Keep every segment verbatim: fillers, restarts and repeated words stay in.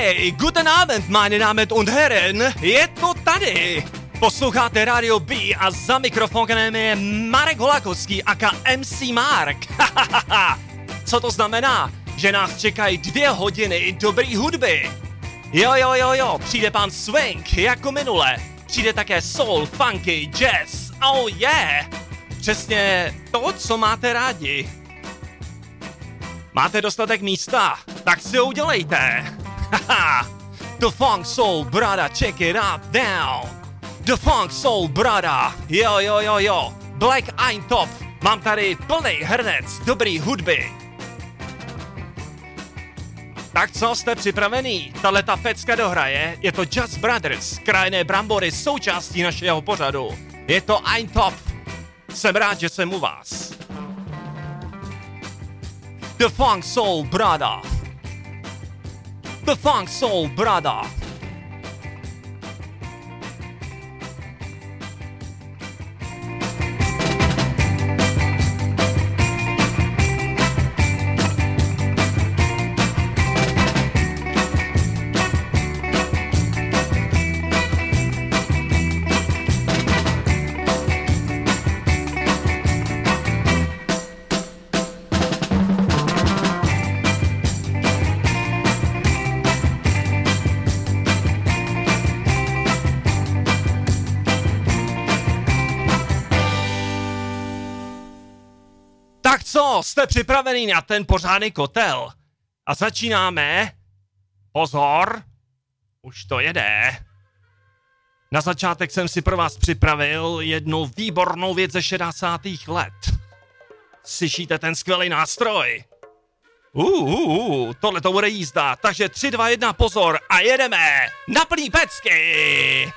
Hey, guten Abend, meine Damen und Herren, je to tady. Posloucháte Radio B a za mikrofonem je Marek Holakovský aka em cé Mark. Co to znamená? Že nás čekají dvě hodiny dobrý hudby. Jo, jo, jo, jo, přijde pan Swing jako minule. Přijde také soul, funky, jazz, oh yeah. Přesně to, co máte rádi. Máte dostatek místa? Tak si ho udělejte. The Funk Soul Brother, check it out now. The Funk Soul Brother, jo, jo, jo, jo. Black Eintop, mám tady plný hrnec dobrý hudby. Tak co, jste připravený? Tahle ta pecka dohraje, je to Just Brothers, krajné brambory, součástí našeho pořadu. Je to Eintop. Jsem rád, že jsem u vás. The Funk Soul Brother. The Funk Soul Brother. Co, jste připravený na ten pořádný kotel? A začínáme. Pozor, už to jede. Na začátek jsem si pro vás připravil jednu výbornou věc ze šedesátých let. Slyšíte ten skvělý nástroj? Uh, uh, uh, tohle to bude jízda, takže tři, dva, jedna, pozor a jedeme na plný pecky.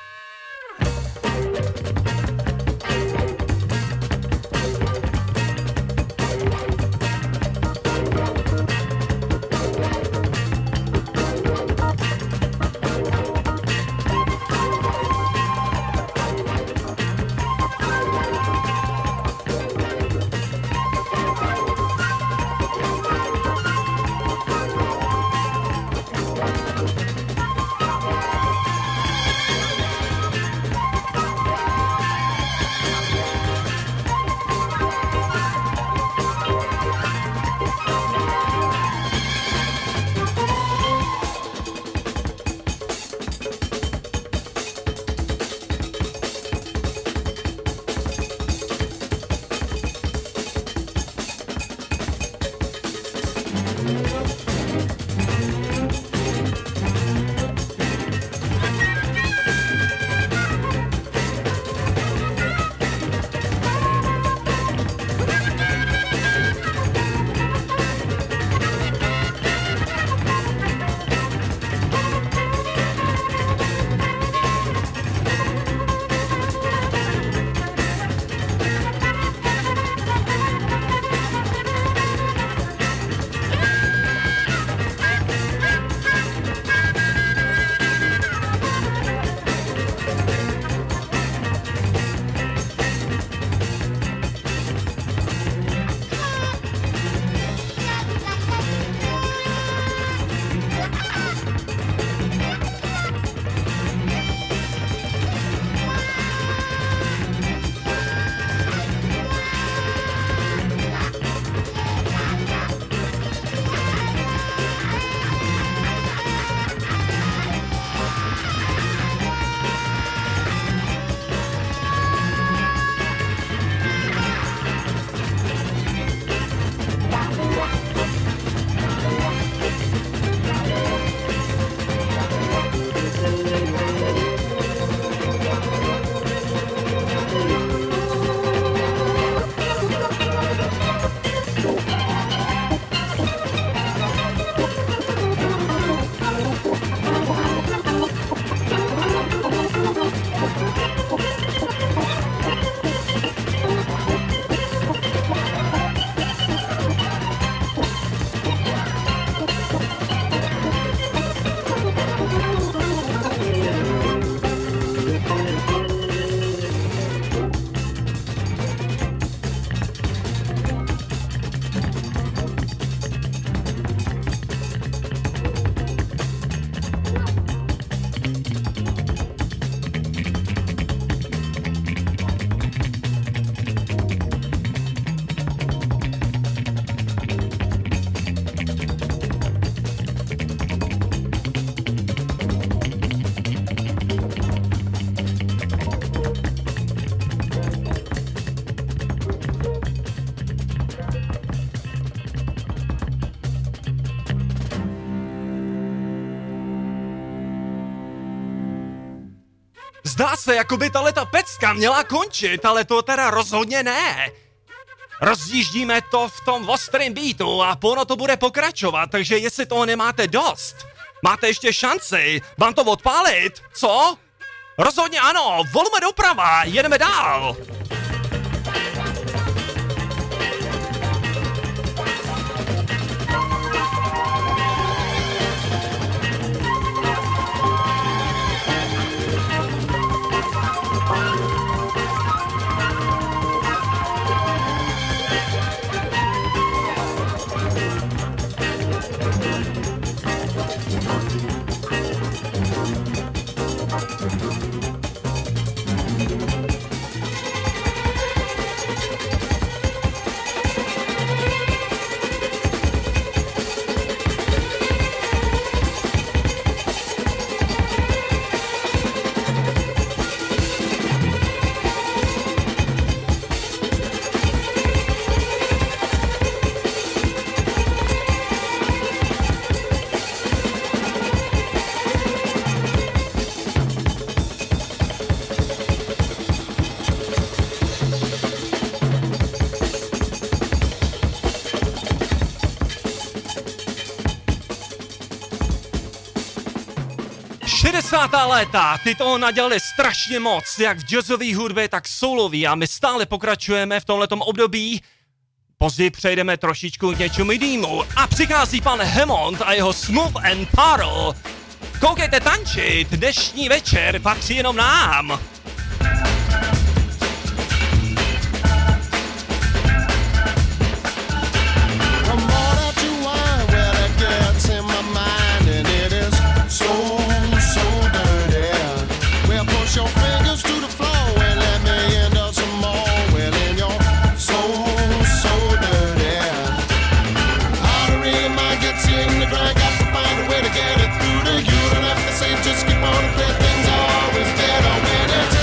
Zdá se, jako by tato pecka měla končit, ale to teda rozhodně ne. Rozjíždíme to v tom ostrém beatu a ono to bude pokračovat, takže jestli toho nemáte dost, máte ještě šanci, mám to odpálit, co? Rozhodně ano, volume doprava, jedeme dál. šedesátá léta, ty toho nadělali strašně moc, jak v jazzové hudbě, tak soulový a my stále pokračujeme v tomhletom období. Později přejdeme trošičku k něčemu jinému a přichází pan Hammond a jeho Smooth and Parle. Koukejte tančit, dnešní večer patří jenom nám. Just keep on playing things always better when it's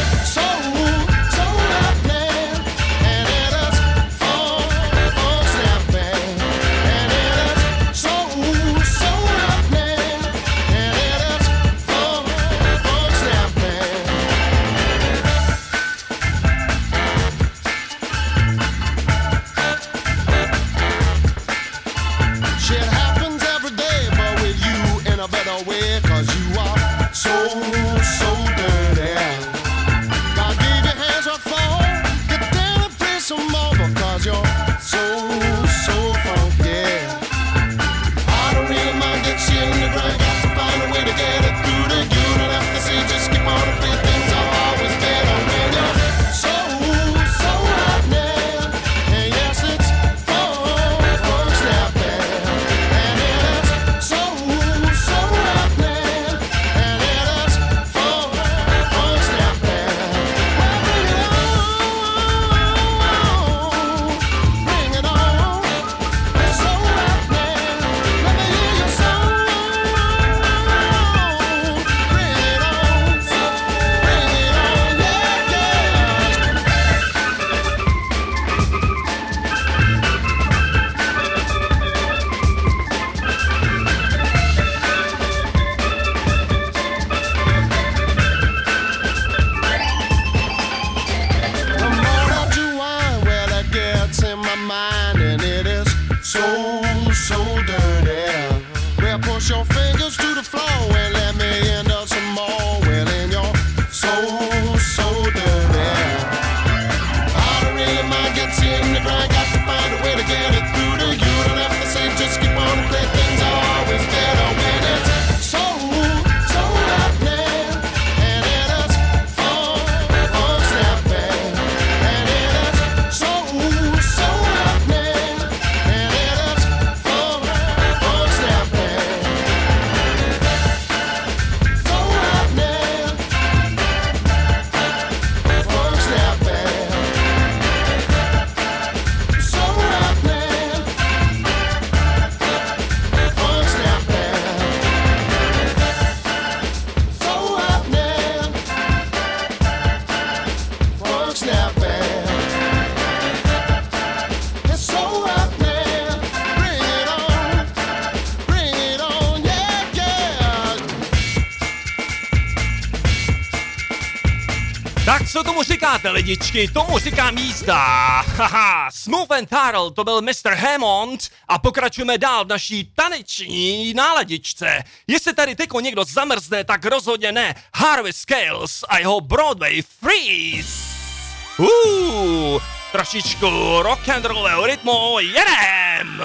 co tomu říkáte, lidičky? Tomu říkám jízda. Haha, Smooth and Tarl, to byl mister Hammond a pokračujeme dál v naší taneční náladičce. Jestli tady tyko někdo zamrzne, tak rozhodně ne. Harvey Scales a jeho Broadway Freeze. Uuu, trošičku rock and rollového rytmu, jedem!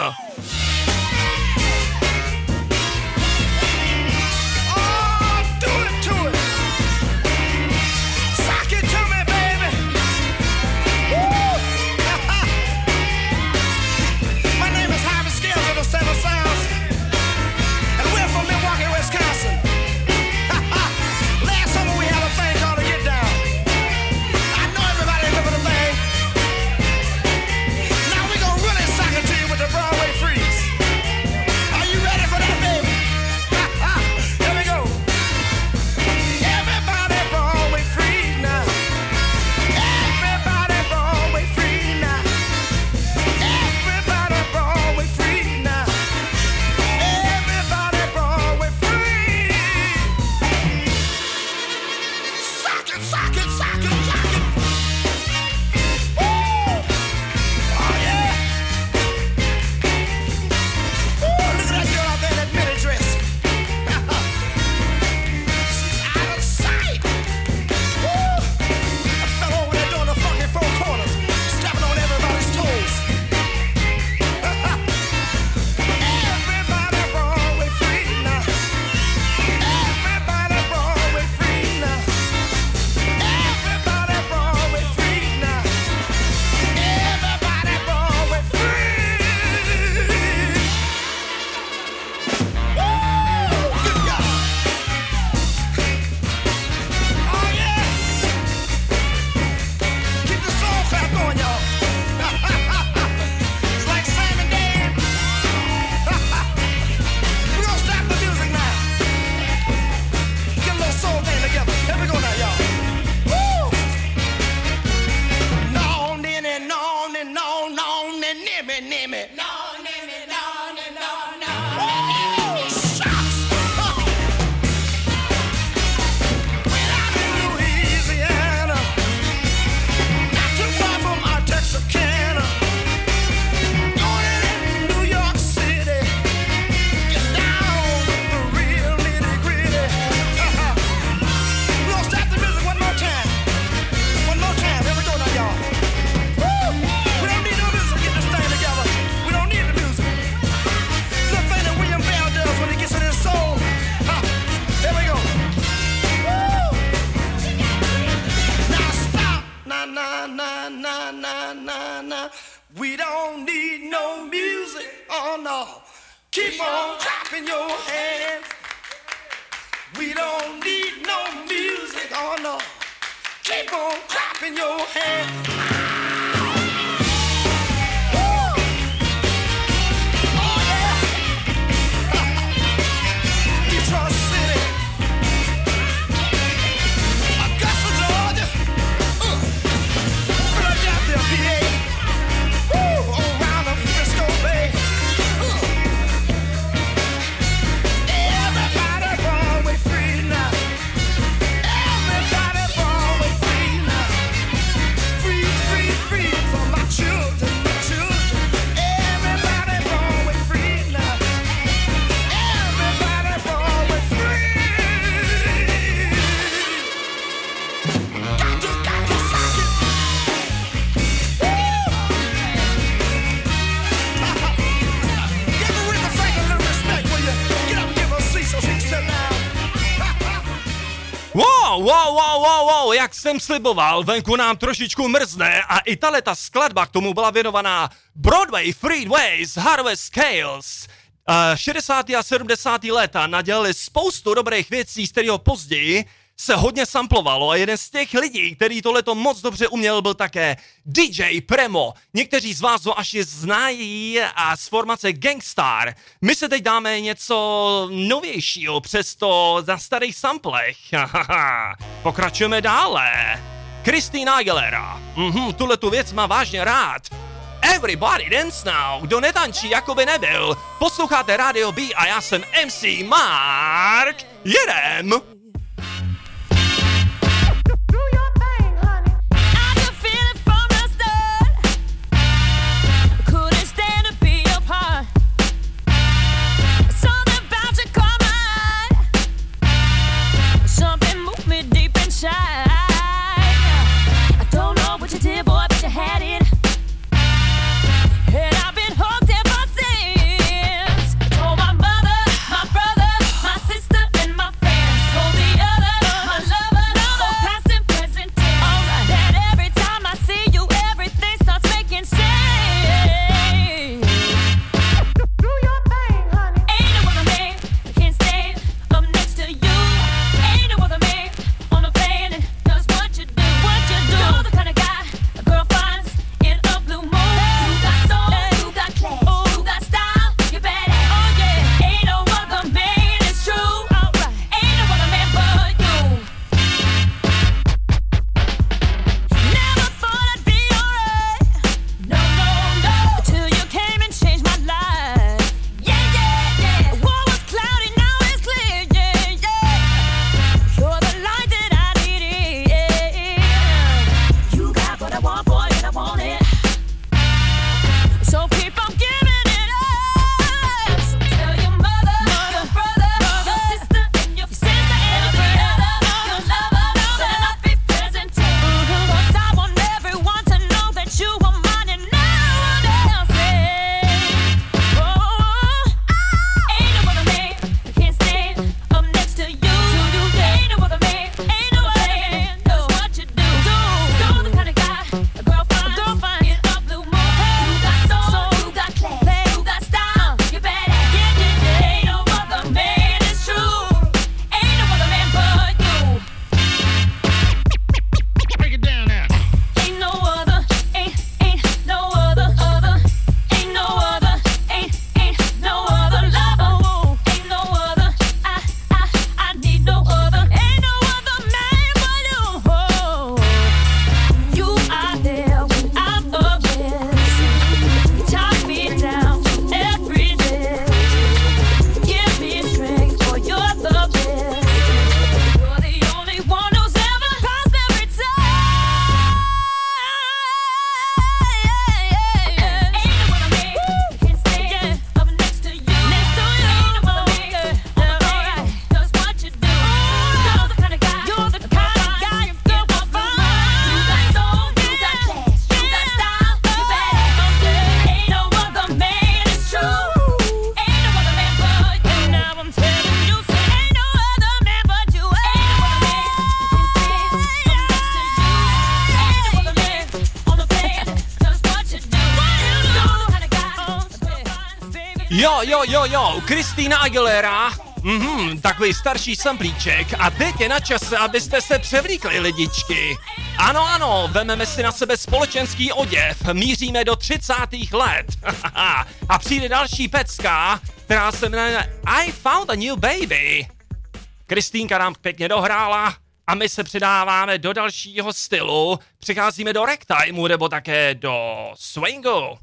Wow, wow, wow, wow, wow, jak jsem sliboval, venku nám trošičku mrzne a i tato skladba k tomu byla věnovaná Broadway Freeways, Harvey Scales. Uh, šedesátá a sedmdesátá léta nadělali spoustu dobrých věcí, z kterého později se hodně samplovalo a jeden z těch lidí, který tohleto moc dobře uměl, byl také D J Premo. Někteří z vás ho až znají a z formace Gangstar. My se teď dáme něco novějšího, přesto na starých samplech. Pokračujeme dále. Christina Aguilera. Mhm, tuhletu věc má vážně rád. Everybody dance now. Kdo netančí, jako by nebyl. Posloucháte Radio B a já jsem M C Mark. Jedem! Do your thing, honey. Jo, jo, jo, jo, Christina Aguilera. Mhm, takový starší samplíček. A teď je na čase, abyste se převlíkli, lidičky. Ano, ano, vememe si na sebe společenský oděv, míříme do třicátých let. A přijde další pecka, která se jmenuje I Found a New Baby. Kristýnka nám pěkně dohrála a my se předáváme do dalšího stylu. Přicházíme do ragtimeu nebo také do swingu.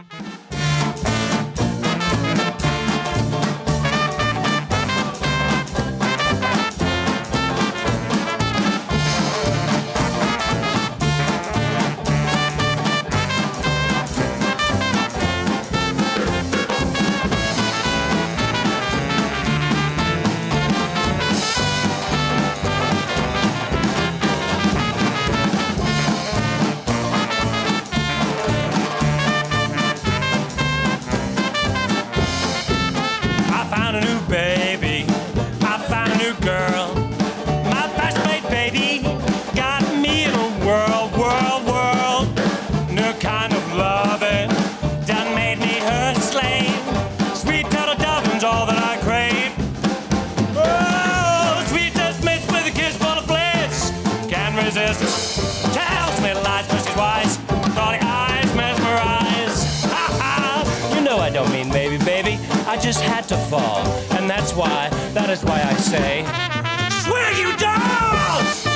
I just had to fall, and that's why, that is why I say, swing you dolls!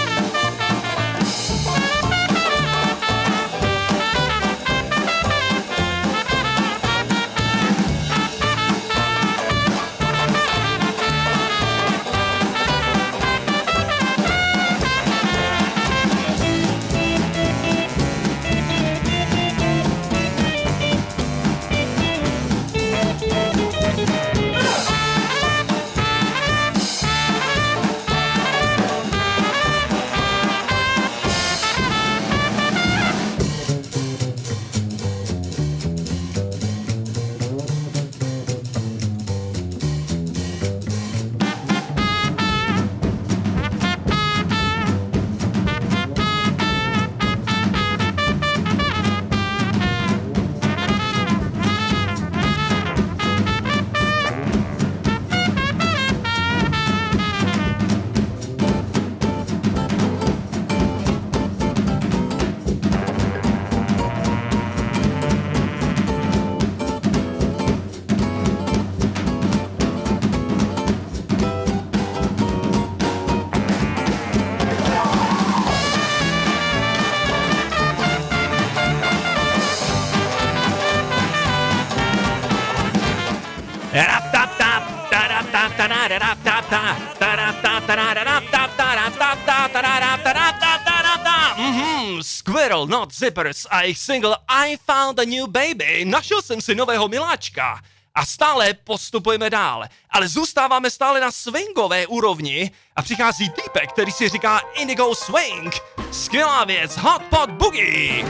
Mhm, Squirrel Not Zippers a jejich single I Found a New Baby. Našel jsem si nového miláčka. A stále postupujeme dál, ale zůstáváme stále na swingové úrovni a přichází týpek, který si říká Indigo Swing. Skvělá věc, Hot Pot Boogie.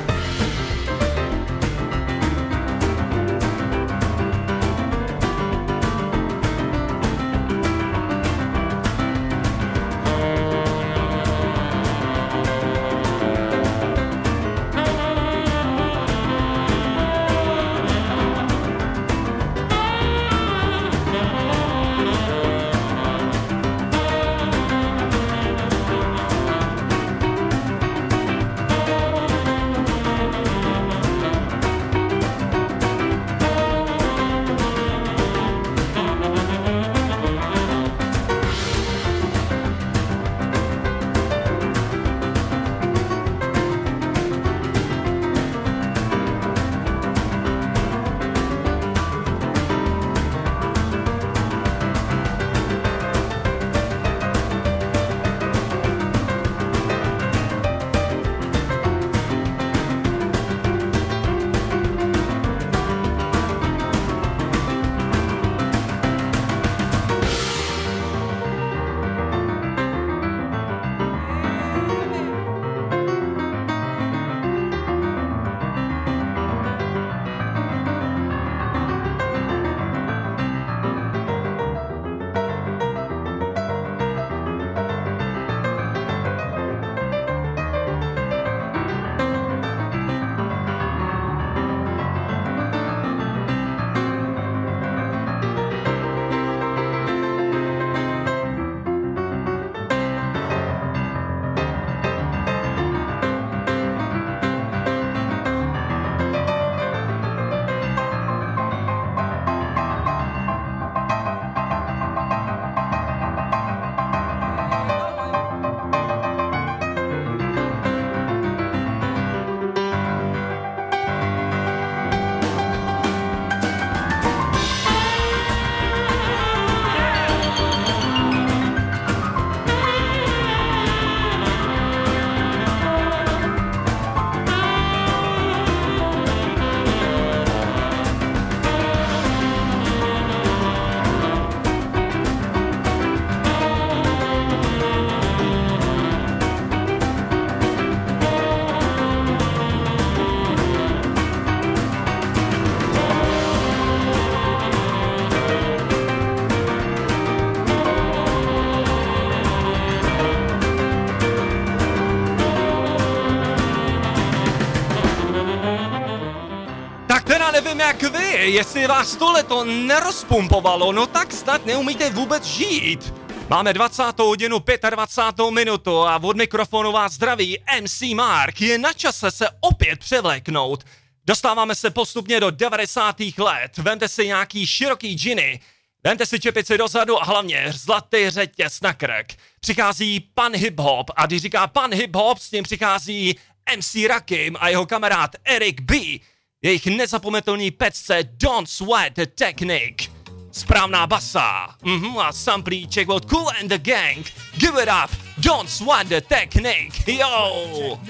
jestli vás tohleto nerozpumpovalo, no tak snad neumíte vůbec žít. Máme dvacátou hodinu dvacátou pátou minutu a od mikrofonu vás zdraví M C Mark. Je na čase se opět převléknout. Dostáváme se postupně do devadesátých let. Vemte si nějaký široký džiny, vemte si čepici dozadu a hlavně zlatý řetěz na krk. Přichází pan hip-hop a když říká pan hip-hop, s tím přichází M C Rakim a jeho kamarád Eric B. Jejich nezapomenutelný pecce Don't Sweat the Technique. Správná basa. Mhm, a samplíček od Kool and the Gang. Give it up, Don't Sweat the Technique. Yo!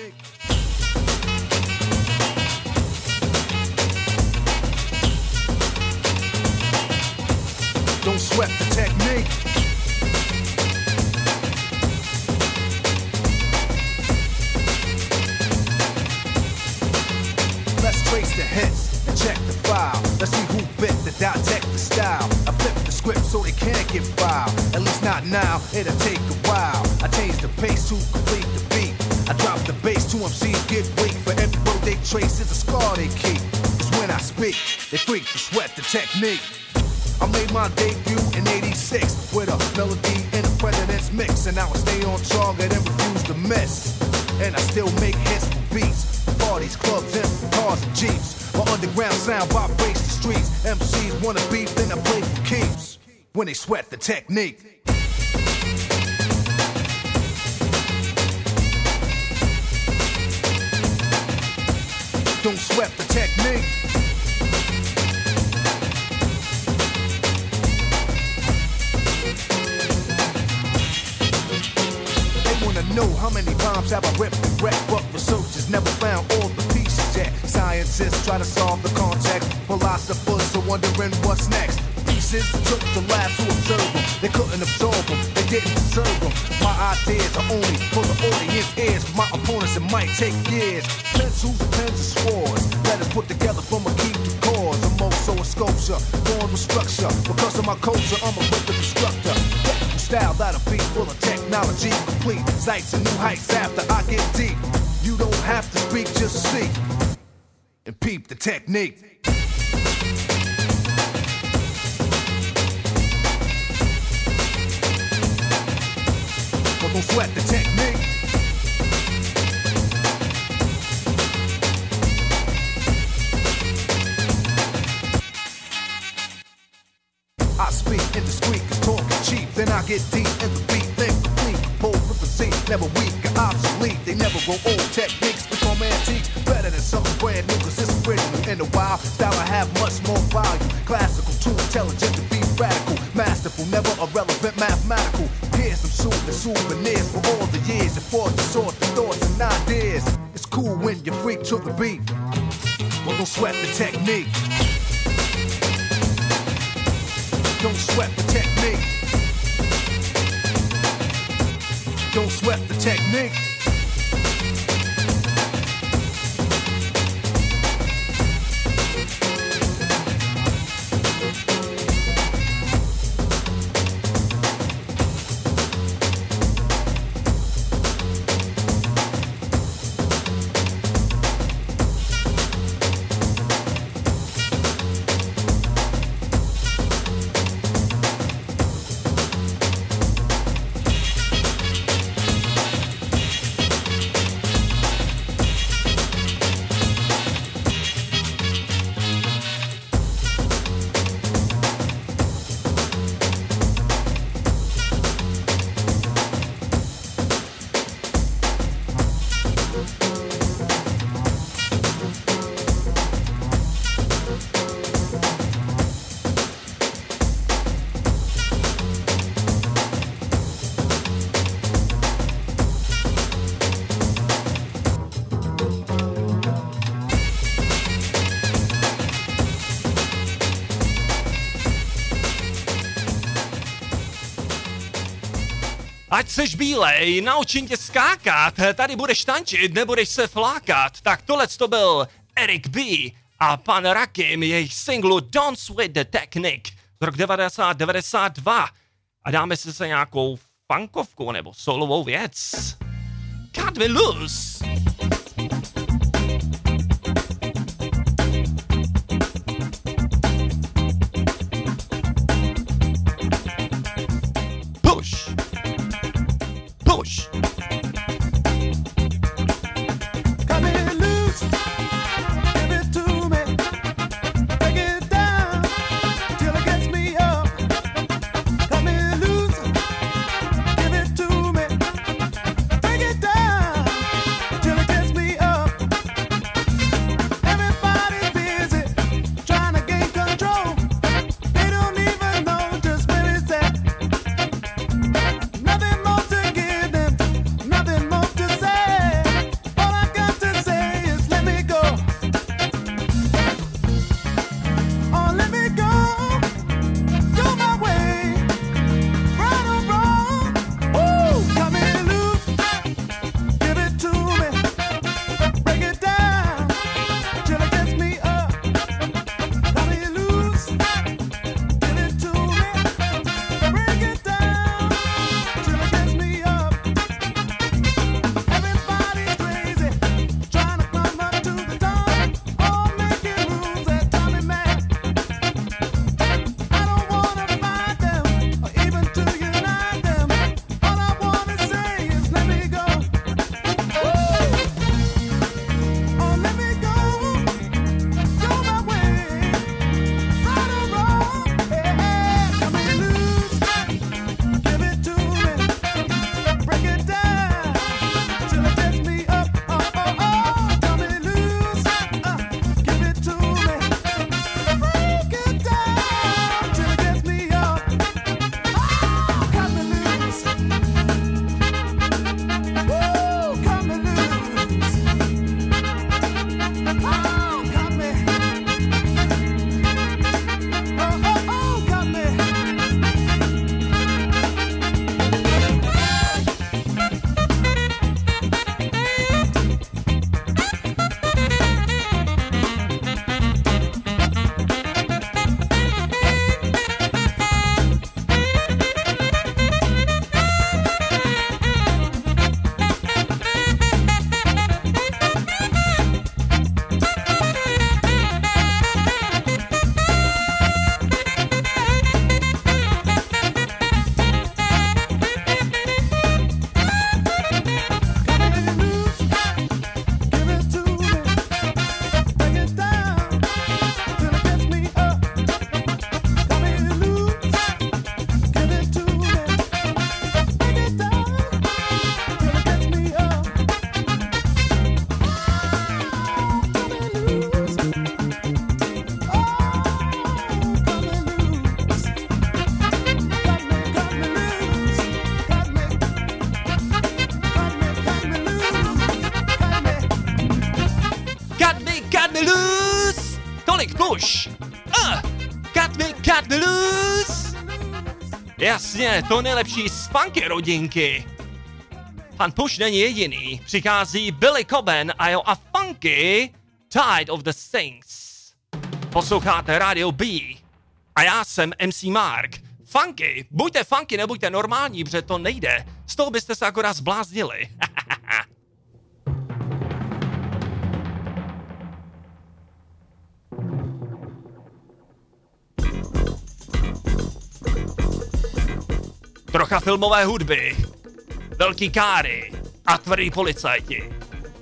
Don't sweat the technique. Let's trace the hits and check the file. Let's see who bit the dissect the style. I flip the script so they can't get filed. At least not now, it'll take a while. I change the pace to complete the beat. I drop the bass to M Cs get weak. For every word they trace is a scar they keep. Cause when I speak, they freak to sweat the technique. I made my debut in eighty-six with a melody and a president's mix. And now I stay on target and refuse to miss. And I still make hits for beats. Parties, clubs, and cars and jeeps. My underground sound vibrates the streets. M Cs wanna beat, then I play for keeps. When they sweat the technique. Don't sweat the technique. Know how many rhymes have I ripped and wrecked, but researchers never found all the pieces yet. Scientists try to solve the context, philosophers are wondering what's next. Pieces took the labs to observe them, they couldn't absorb them, they didn't deserve them. My ideas are only for the audience ears, for my opponents it might take years. Pencils, pens, and swords, letters put together from a key to chords. I'm also a sculpture, born with structure. Because of my culture, I'm a rhythm instructor. Style that'll be full of technology, complete sights and new heights after I get deep. You don't have to speak, just see and peep the technique. But don't sweat the technique. I speak indiscreet, cause talk is cheap. Then I get deep in the beat, then complete. Composed with a Z, never weak or obsolete. They never grow old, techniques become antiques. Better than something brand new, cause it's original. In a while, style I have much more value. Classical, too intelligent to be radical. Masterful, never irrelevant, mathematical. Here's some soothing souvenirs for all the years. And for the sort of thoughts and ideas. It's cool when you freak to the beat. Well, don't sweat the technique. Don't sweat the technique. Don't sweat the technique. Ať seš bílej, naučím tě skákat, tady budeš tančit, nebudeš se flákat. Tak tohle to byl Eric B. a pan Rakim, jejich singlu Don't Sweat the Technique z roku devadesát devadesát dva. A dáme si se nějakou funkovku nebo solovou věc. Cut me loose! me, cut me loose. Jasně, to nejlepší z funky rodinky. Pan Push není jediný. Přichází Billy Coben a jo a funky Tide of the Things. Posloucháte Radio B. A já jsem M C Mark. Funky, buďte funky, nebuďte normální, protože to nejde. Z toho byste se akorát zbláznili. Trocha filmové hudby, velký káry a tvrdý policajti.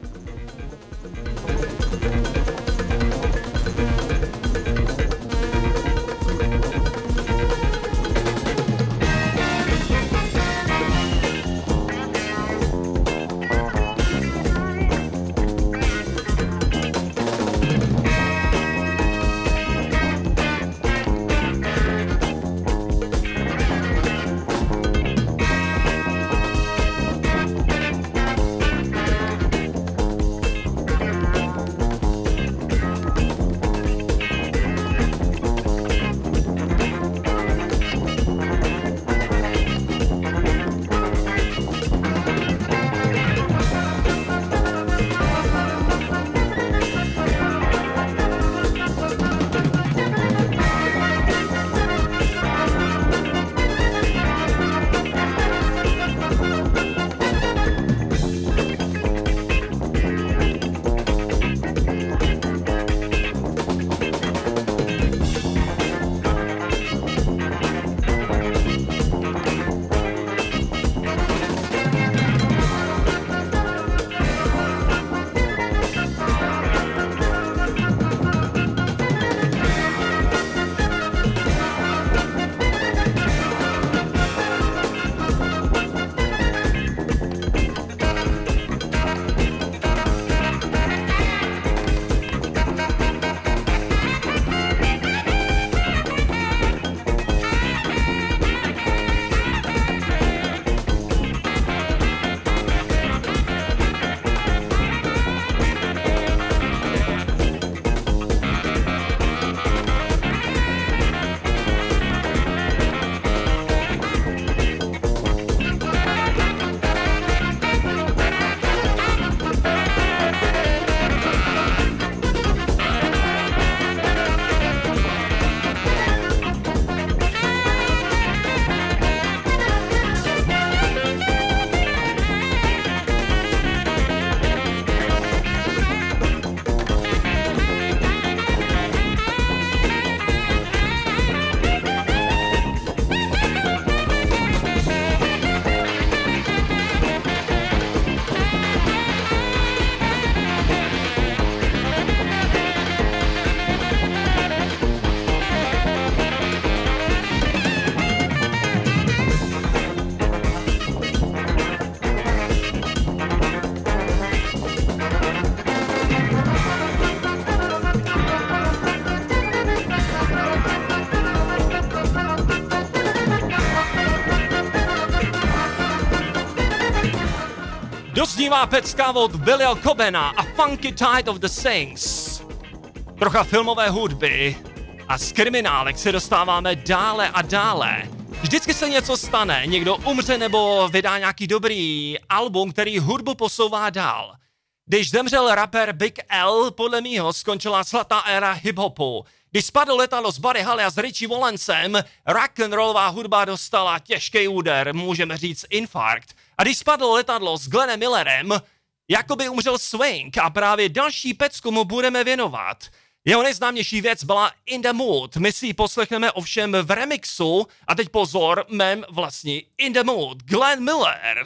Doznívá pecka od Billyho Cobena a Funky Tide of the Things. Trocha filmové hudby a z kriminálek se dostáváme dále a dále. Vždycky se něco stane, někdo umře nebo vydá nějaký dobrý album, který hudbu posouvá dál. Když zemřel rapper Big L, podle mýho skončila zlatá éra hip-hopu. Když spadl letadlo s Buddy Holly a s Richie Valensem, rock'n'rollová hudba dostala těžký úder, můžeme říct infarkt. A když spadlo letadlo s Glennem Millerem, jakoby umřel swing a právě další pecku mu budeme věnovat. Jeho nejznámější věc byla In the Mood. My si ji poslechneme ovšem v remixu a teď pozor, mém vlastní In the Mood, Glenn Miller.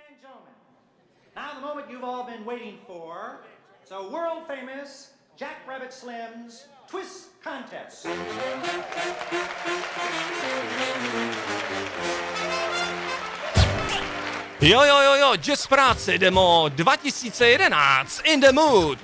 Now the moment you've all been waiting for, so world famous Jack Rabbit Slim's Twist Contest. Jo, jo, jo, jo, Jazz práce, demo dva tisíce jedenáct, In the Mood.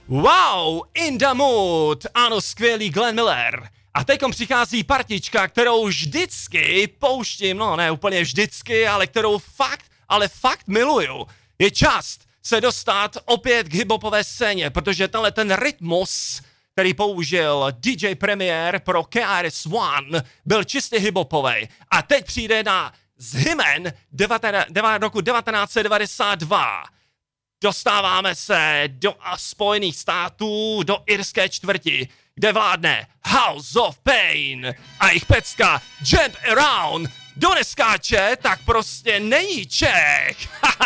Wow, in the mood, ano, skvělý Glenn Miller. A teďkom přichází partička, kterou vždycky pouštím, no ne úplně vždycky, ale kterou fakt, ale fakt miluju. Je čas se dostat opět k hiphopové scéně, protože tenhle ten rytmus, který použil D J Premier pro K R S One, byl čistě hiphopovej. A teď přijde na z Hymen roku devatenáct set devadesát dva. Dostáváme se do Spojených států, do irské čtvrti, kde vládne House of Pain a jejich pecka Jump Around. Kdo neskáče, tak prostě není Čech.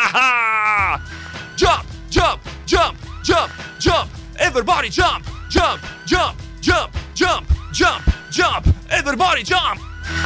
Jump, jump, jump, jump, jump, everybody jump, jump, jump, jump, jump, jump, jump, everybody jump.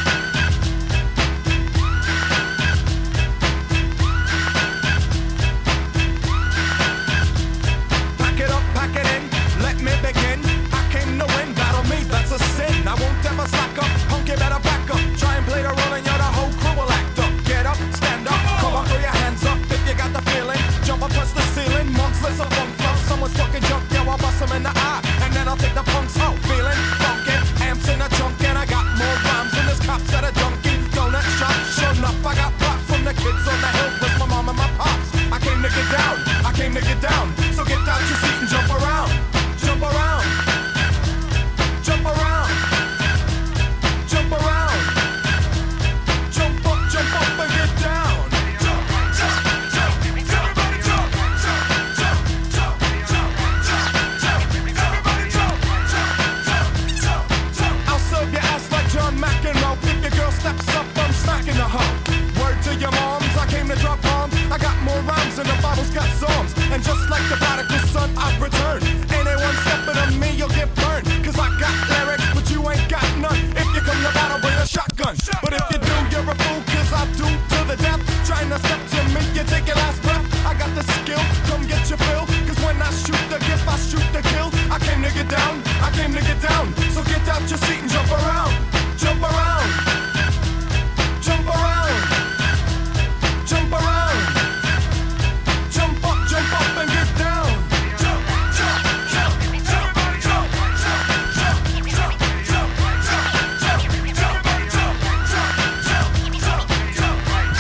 Let me begin. I came to win. Battle me, that's a sin. I won't ever slack up. Punk, you better back up. Try and play the role and you're the whole crew will act up. Get up, stand up, come on, throw your hands up if you got the feeling. Jump up, touch the ceiling. Monks, let's a funk flow. Someone's talking junk, yeah, I'll bust them in the eye. And then I'll take the punks out. Feeling funky, amps in a trunk. And I got more rhymes than this cops at a junkie donut shop. Sure enough, I got props from the kids on the hill. Plus my mom and my pops. I came to get down, I came to get down. So get out your seat and jump around. Jump around, jump around, jump around, jump up, jump up and get down. Jump, jump, jump, everybody jump, jump, jump, jump, jump, jump, jump, everybody jump, jump, jump, jump, jump. I'll serve your ass like John McEnroe. If your girl steps up, I'm smacking the hoe. Word to your moms, I came to drop bombs. I got more rhymes than the Bible's got psalms. And just like the prodigal son, I've returned. Anyone stepping on me, you'll get burned. Cause I got lyrics, but you ain't got none. If you come to battle, bring a shotgun. But if you do, you're a fool, cause I do to the death. Trying to step to me, you take your last breath. I got the skill, come get your fill. Cause when I shoot the gift, I shoot the kill. I came to get down, I came to get down. So get out your seat and jump around. Jump around. Jump around. Jump around. Jump up, jump up and get down. Jump, jump, jump, everybody jump, jump, jump, jump, jump, jump, jump, everybody jump, jump, jump, jump, jump.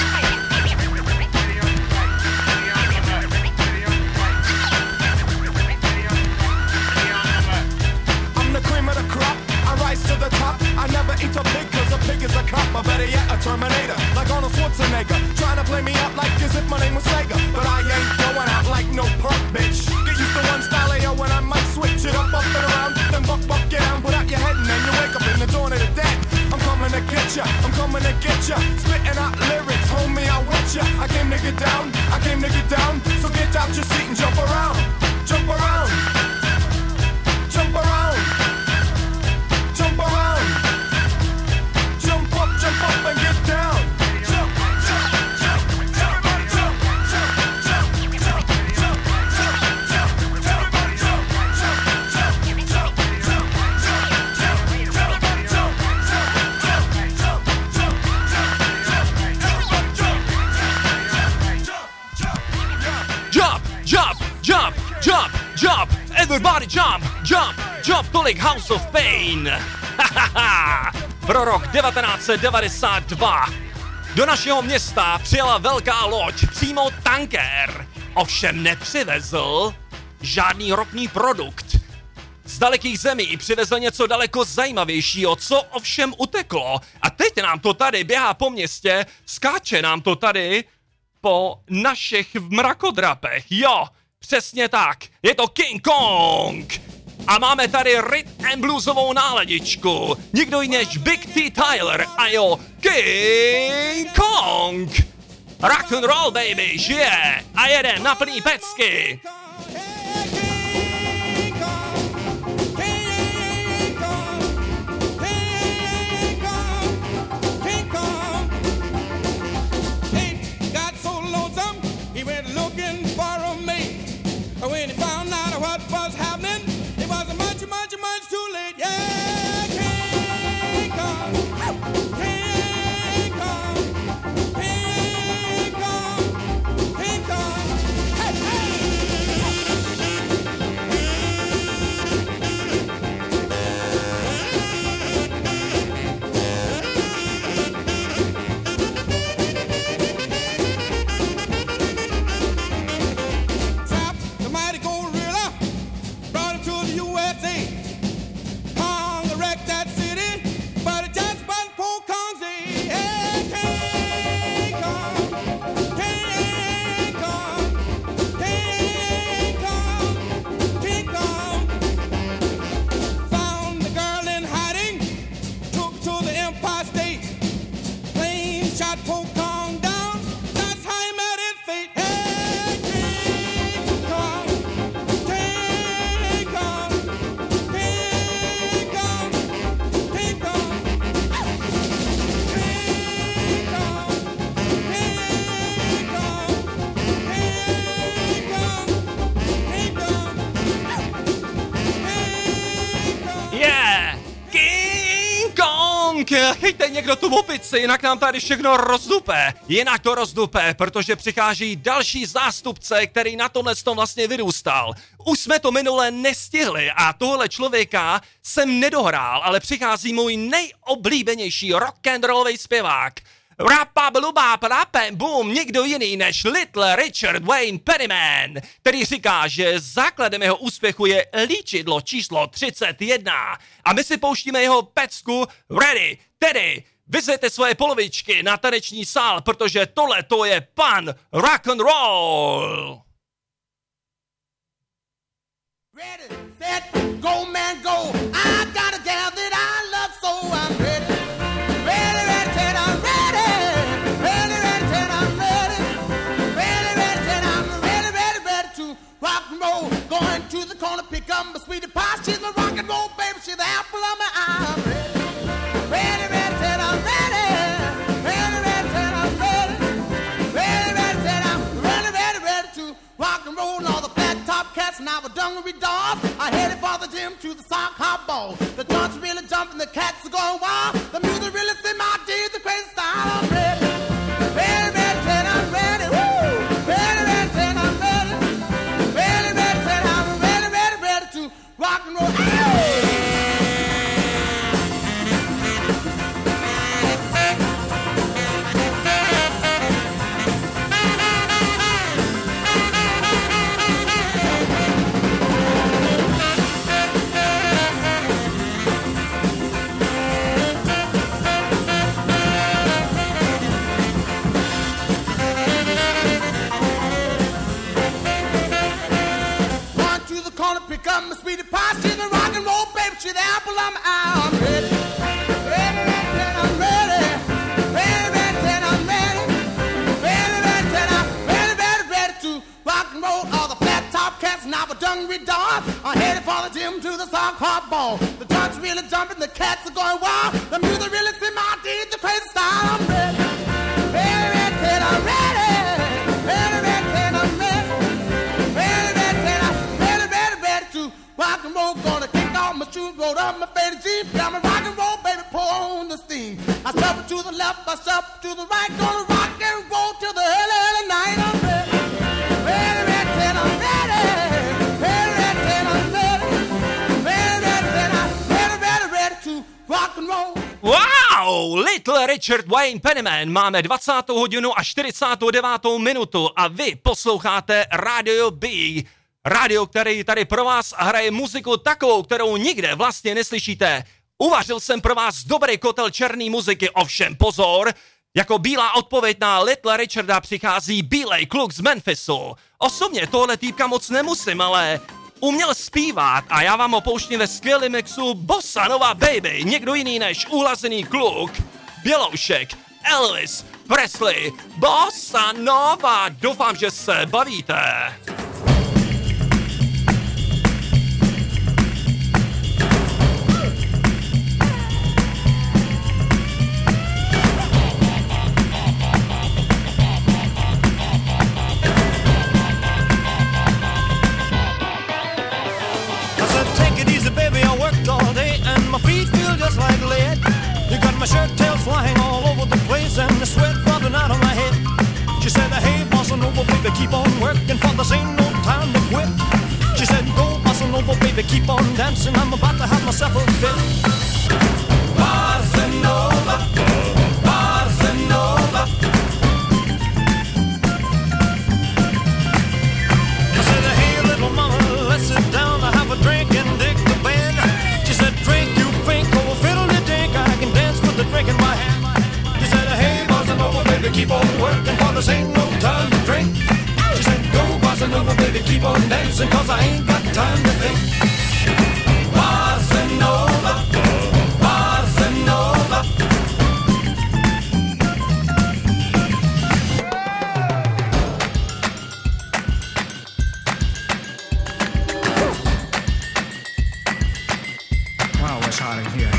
I'm the cream of the crop, I rise to the top. I never eat a pig cause a pig is a cop. Or better yet, a Terminator, like Arnold Schwarzenegger. Trying to play me out like as if my name was Sega. But I ain't going out like no punk, bitch. Get used to one style, yo, when I might switch it up, up and around. Then buck, buck, get down, put out your head and then you wake up in the dawn of the dead. I'm coming to get ya, I'm coming to get ya. Spitting out lyrics, homie, I want ya. I came to get down, I came to get down. So get out your seat and jump around. Jump around. Jump around. Jump around. Jump up, jump up and get down. Jump, jump, jump, everybody jump, jump, jump, jump, jump, jump, jump, everybody jump, jump, jump, jump, jump, jump, jump, everybody jump, jump, jump, jump, jump, jump, everybody jump, Jump, jump, jump, jump, jump, everybody jump, jump, jump, tolik House of Pain. Pro rok devatenáct set devadesát dva do našeho města přijela velká loď, přímo tanker. Ovšem nepřivezl žádný ropný produkt. Z dalekých zemí přivezl něco daleko zajímavějšího, co ovšem uteklo. A teď nám to tady běhá po městě, skáče nám to tady po našich mrakodrapech. Jo, přesně tak, je to King Kong. A máme tady rhythm and bluesovou náladičku. Nikdo jiný než Big T. Tyler a jo King Kong. Rock and roll, baby, žije a jede na plný pecky. When he found out what was happening, it was much, much, much too late. Yeah, King Kong, King Kong, King Kong, King Kong. Hey, hey. chyťte někdo tu opici, jinak nám tady všechno rozdupe. Jinak to rozdupe, protože přichází další zástupce, který na tomhle tom vlastně vyrůstal. Už jsme to minule nestihli a tohle člověka jsem nedohrál, ale přichází můj nejoblíbenější rock'n'rollový zpěvák. Rapa bluba rapem boom, nikdo jiný než Little Richard Wayne Pennyman, který říká, že základem jeho úspěchu je líčidlo číslo třicet jedna. A my si pouštíme jeho pecku Ready, tedy vyzvěte svoje polovičky na taneční sál, protože tohle to je pan rock and roll. Ready, set, go man go. I got a gal that I love so I'm ready. Ready, ready, set, I'm ready. Ready, ready, set, I'm ready. Ready, ready, set, I'm ready, ready, ready to rock and roll. Going to the corner, pick up my sweetie pie. She's my rock and roll baby, she's the apple of my eye. I'm ready. Ready, ready, set, I'm ready. Ready, ready, set, I'm ready. Ready, ready, set, I'm ready, ready, ready to rock and roll. All the flat top cats and our dungaree dogs are headed for the gym to the sock hop ball. The joints really jumping, the cats are going wild. The music really sing my deeds, the crazy style. I'm ready. Ready, ready, set, I'm ready. Woo! Ready, ready, set, I'm ready. Ready, ready, set, I'm ready, ready, ready to rock and roll. Hey! Pick up my sweetie pie, she's the rock and roll baby, she's the apple of my eye. I'm ready, ready, ready, I'm ready, ready, ready, I'm ready, ready, ready, I'm ready, ready, ready to rock and roll. All the flat top cats and our dungaree dogs are headed for the gym to the sock hop ball. The joints really jumping, the cats are going wild. The music really sing my deeds, the crazy style. I'm ready, ready, ready, I'm ready, ready, ready, I'm ready. Rock and roll, gonna kick off my shoes, roll up my faded jeep. Got my rock and roll, baby, pour on the steam. I shuffle to the left, I shuffle to the right. Gonna rock and roll till the early, early night. I'm ready, ready, ready, I'm ready. Ready, ready, I'm ready. Ready, ready, I'm ready, ready, ready to rock and roll. Wow! Little Richard Wayne Pennyman, máme dvacátou hodinu a čtyřicátou devátou minutu a vy posloucháte Radio B. Rádio, který tady pro vás hraje muziku takovou, kterou nikde vlastně neslyšíte. Uvařil jsem pro vás dobrý kotel černý muziky, ovšem pozor, jako bílá odpověď na Little Richarda přichází bílej kluk z Memphisu. Osobně tohle týpka moc nemusím, ale uměl zpívat a já vám ho pouštím ve skvělém mixu Bossa Nova Baby, někdo jiný než uhlazený kluk, Běloušek, Elvis Presley, Bossa Nova. Doufám, že se bavíte. All day and my feet feel just like lead. You got my shirt tails flying all over the place and the sweat dropping out of my head. She said, hey, Bossa Nova, baby, keep on working for this ain't no time to quit. She said, go, Bossa Nova, baby, keep on dancing. I'm about to have myself a fit. Bossa Nova, Bossa Nova. I said, hey, little mama, let's sit down and have a drink and dig the band. She said, drink, you think, oh, fiddle the dink, I can dance with the drink in my hand. She said, hey, Bossa Nova, baby, keep on working, for this ain't no time to drink. She said, go, Bossa Nova, baby, keep on dancing, cause I ain't got time to think. Bossa Nova, Bossa Nova. Wow, it's hot in here.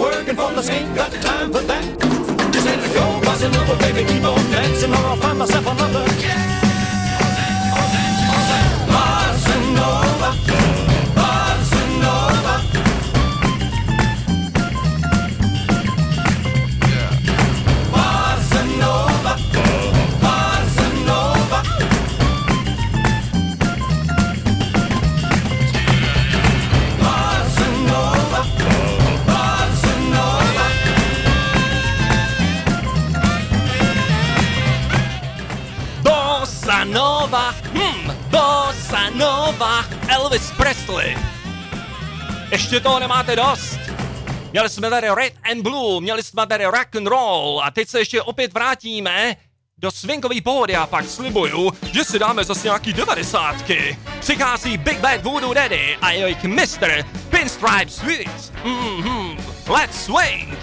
working for the ain't got time for that. They said, go, bossy little baby, keep on dancing, or I'll find myself another. Bossa Nova, Bossa Nova. Bossa Nova, Bossa Nova. Bossa Nova, Bossa Nova. Bossa Nova, hm, Bossa Nova, Elvis Presley. Ještě toho nemáte dost. Měli jsme tady Red and Blue, měli jsme tady rock and roll a teď se ještě opět vrátíme do swingový pohody a pak slibuju, že si dáme zase nějaký devadesátky. Přichází Big Bad Voodoo Daddy a jejich mister Pinstripe Sweet. Mhm, let's swing!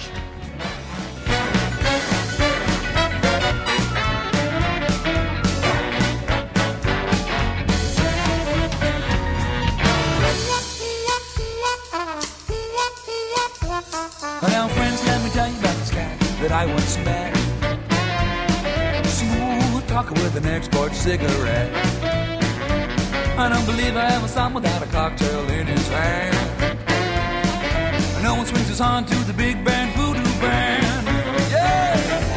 Now, friends, let me tell you about this guy that I once met. Smooth talker with an export cigarette. I don't believe I ever saw him without a cocktail in his hand. No one swings his horn to the big band voodoo band. Yeah!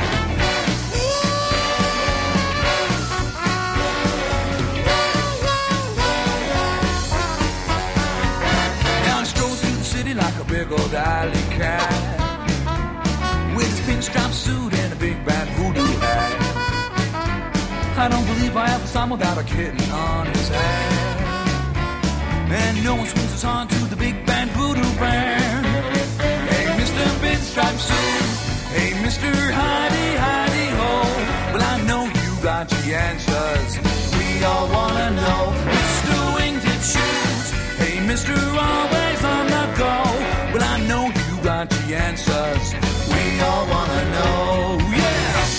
Now he strolls through the city like a big old alley cat, with his pinstripe suit and a big bad voodoo hat. I don't believe I ever saw him without a kitten on his hand. And no one swings his horn to the big band voodoo band. Hey, Mister Pinstripe Suit. Hey, Mister Hidey Hidey Ho. Well, I know you got the answers. We all wanna know. Mister Wingtip Shoes. Hey, Mister Always on the go. Well, I know you got the answers. We all wanna know. Yeah.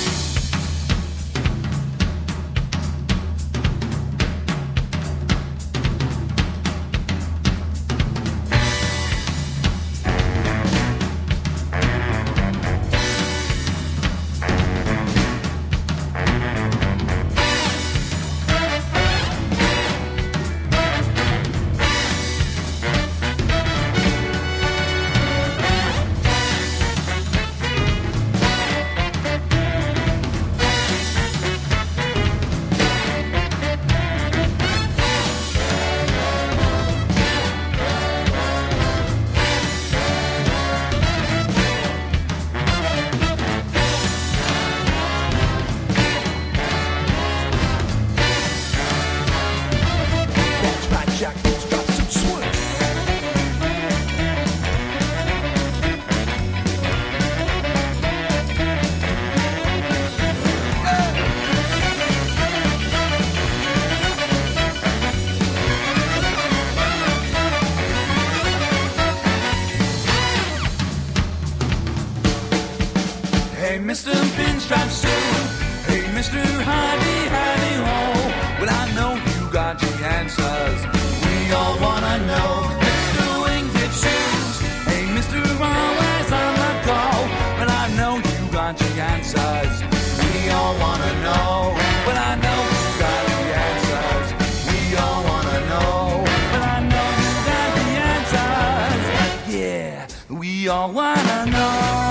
Hey, Mister Pinstripe Suit. Hey, Mister Hidey Hidey Ho. Well, I know you got the answers. We all wanna know. Mister Wingtip Shoes. Hey, Mister Always on the go. Well, I know you got the answers. We all wanna know. Well, I know you got the answers. We all wanna know. Well, I know you got the answers. Yeah, we all wanna know.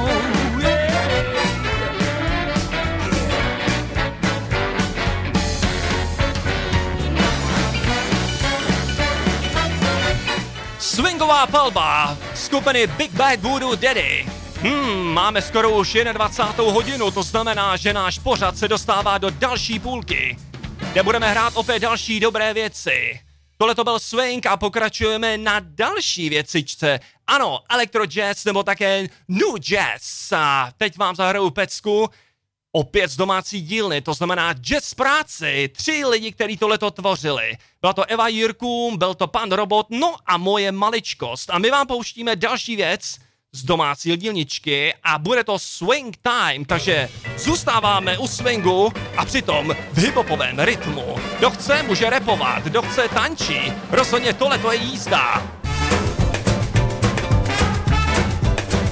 Swingová palba skupiny Big Bad Voodoo Daddy. Hmm, máme skoro už dvacátou jednu hodinu, to znamená, že náš pořad se dostává do další půlky, kde budeme hrát opět další dobré věci. Tohle to byl swing a pokračujeme na další věcičce. Ano, electro jazz nebo také new jazz. A teď vám zahraju pecku opět z domácí dílny, to znamená jazz práci. Tři lidi, kteří tohleto tvořili. Byla to Eva Jirkům, byl to pan Robot, no a moje maličkost. A my vám pouštíme další věc z domácí dílničky a bude to swing time, takže zůstáváme u swingu a přitom v hiphopovém rytmu. Kdo chce, může rapovat, kdo chce, tančí. Rozhodně tohleto je jízda.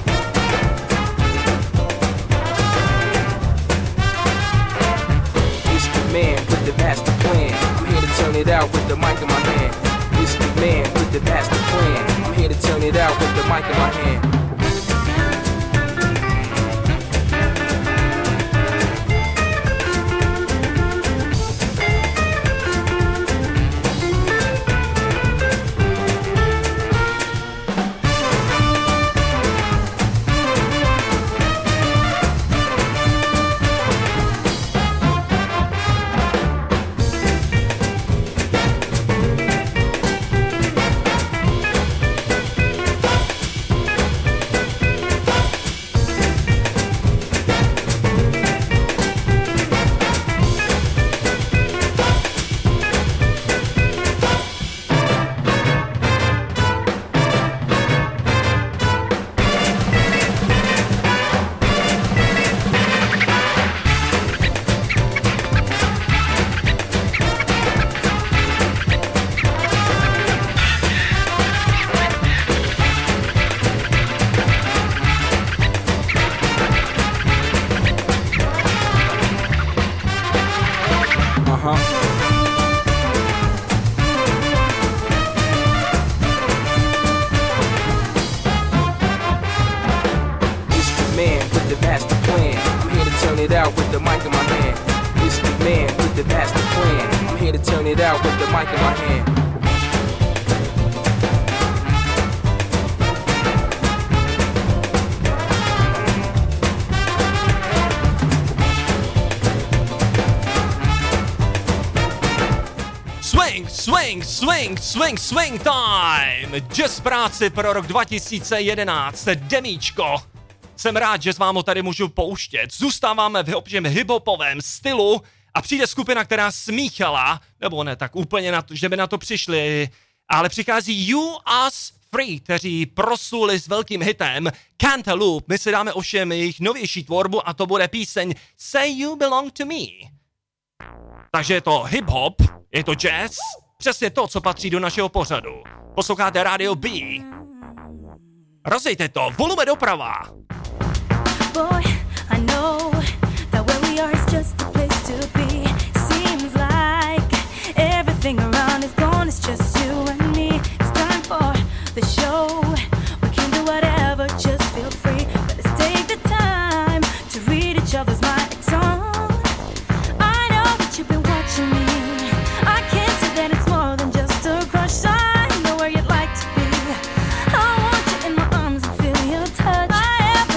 turn it out with the mic in my hand. It's the man with the master plan. I'm here to turn it out with the mic in my hand. Swing, swing, swing time! Jazz práci pro rok dva tisíce jedenáct, demíčko. Jsem rád, že s vám ho tady můžu pouštět. Zůstáváme v hip-hopovém stylu a přijde skupina, která smíchala, nebo ne tak úplně, na to, že by na to přišli, ale přichází You Us Free, kteří prosuli s velkým hitem Cantaloupe. My si dáme ovšem jejich novější tvorbu a to bude píseň Say You Belong to Me. Takže je to hip-hop, je to jazz, přesně to, co patří do našeho pořadu. Posloucháte Radio B. Rozejte to, volume doprava. Boy, I know that where we are is just a place to be. Seems like everything around is gone, it's just you and me. It's time for the show. We can do whatever, just feel free. But let's take the time to read each other's minds on. I know that you've been watching me. I can't say that it's more than just a crush. I know where you'd like to be. I want you in my arms and feel your touch. I have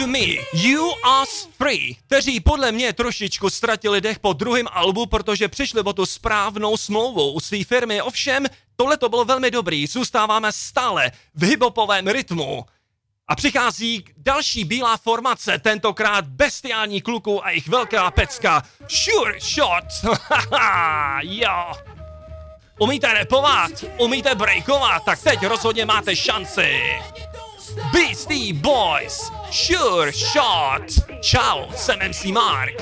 to Me, You Us Free, kteří podle mě trošičku ztratili dech po druhém albu, protože přišli o tu správnou smlouvu u své firmy, ovšem tohle to bylo velmi dobrý, zůstáváme stále v hiphopovém rytmu. A přichází další bílá formace, tentokrát bestiální kluků a jejich velká pecka, Sure Shot, haha, jo. Umíte rapovat, umíte breakovat, tak teď rozhodně máte šanci. Beastie Boys, Sure Shot. Čau, jsem em cé Mark.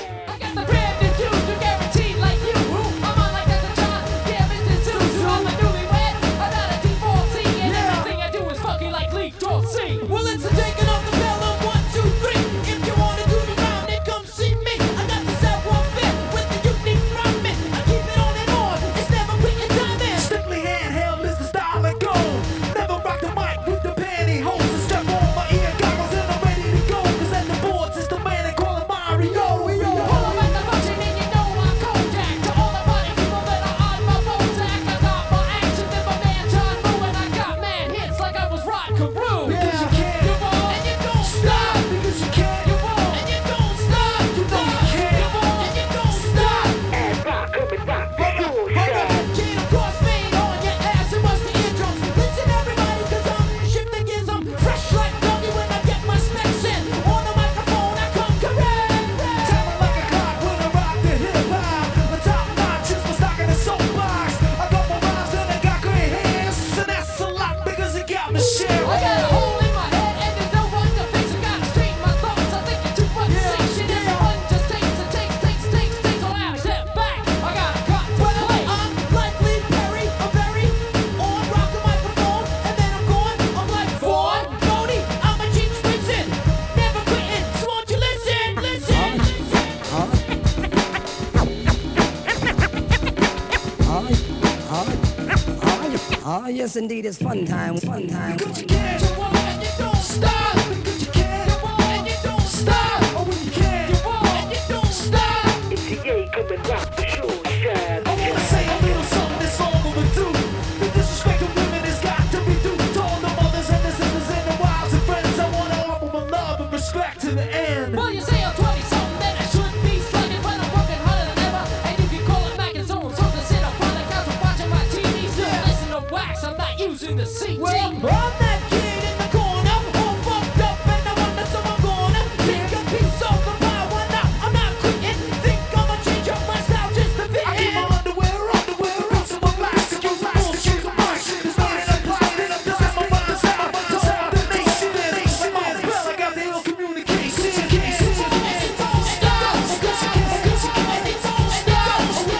Yes, indeed, it's fun time, fun time. Cause you can't, you won't, and you don't stop. Because you can't, you won't, and you don't stop. Oh, when you can't, you won't, and you don't stop. It's the A, come and rock the show, shine. I wanna say a little something that's all overdue. The disrespect of women has got to be due to all the mothers and the sisters and the wives and friends. I wanna offer my love and respect to the end. Well, you say I'm twenty-something, then I should be slugging, but I'm working harder than ever. And if you call it back and so I'm supposed to sit up on the couch and watching my T V, still listen to wax, I'm not using the C T. Well, I'm that kid in the corner, all fucked up, and I wonder so I'm gonna take a piece of the pie. Why not? I'm not quitting. Think I'ma change up my style just to fit in. I keep my underwear, underwear, out of my plastic, use my bullshit, my shit is not in a plastic. I'm just my mind, set my mind, set the nation, nation. My spell, I got the ill communication. Stop, because you can't, because you can't, stop,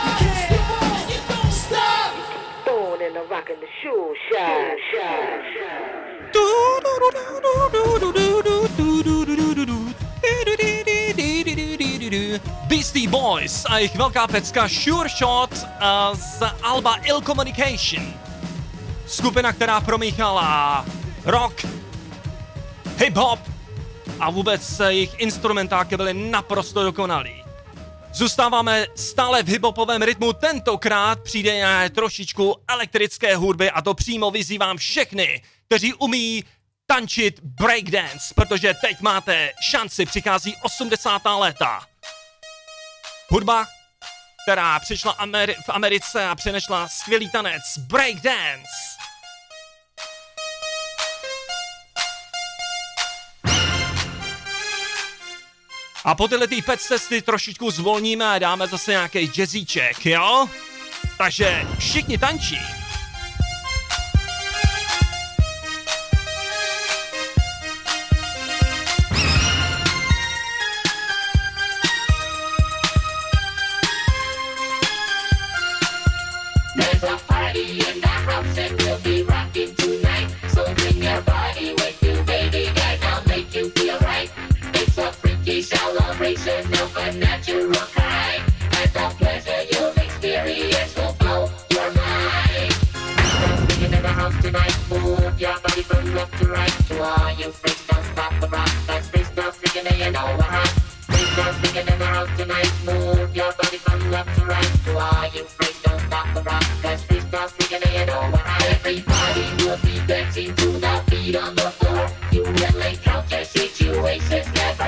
and you don't stop. Born in a rock and the shoe shine, shine, shine. Beastie Boys a jejich velká pecka Sure Shot uh, z alba Ill Communication. Skupina, která promíchala rock, hip-hop a vůbec jejich instrumentáky byly naprosto dokonalý. Zůstáváme stále v hiphopovém rytmu, tentokrát přijde trošičku elektrické hudby a to přímo vyzývám všechny, kteří umí tančit breakdance, protože teď máte šanci, přichází osmdesátá léta. Hudba, která přišla Ameri- v Americe a přinesla skvělý tanec, breakdance. A po tyhle tý pecce si trošičku zvolníme a dáme zase nějaký jazzíček, jo? Takže všichni tančí. There's a party in the house and we'll be rocking tonight. So bring your body with you, baby, and I'll make you feel right. It's a freaky celebration of a natural kind. And the pleasure you'll experience will blow your mind. There's singing in the house tonight. Move your body from left to right. To all you freaks, don't stop the rock. That's free stuff singing and you know we're hot. Free stuff singing in the house tonight. Move your body from left to right. To all you freaks, don't stop the rock. That's free stuff singing and you know we're hot. Everybody will be dancing to the beat on the floor. You will encounter situations never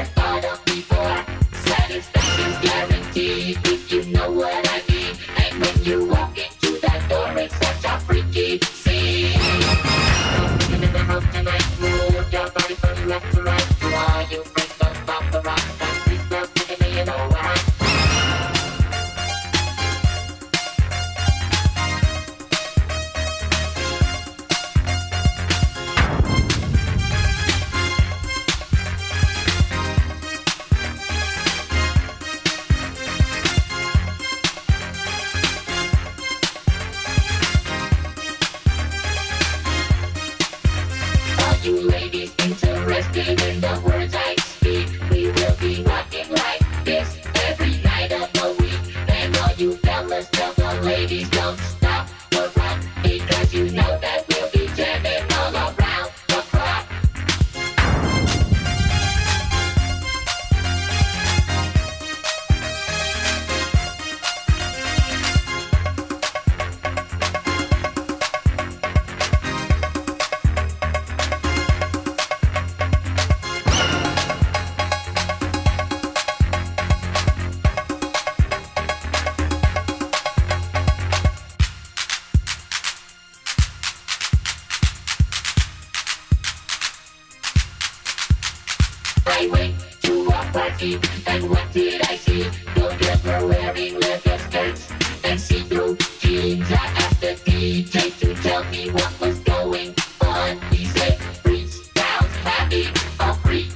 me. And what did I see? The girls were wearing leather skirts and see-through jeans. I asked the D J to tell me what was going on. He said, freestyle's having a freak.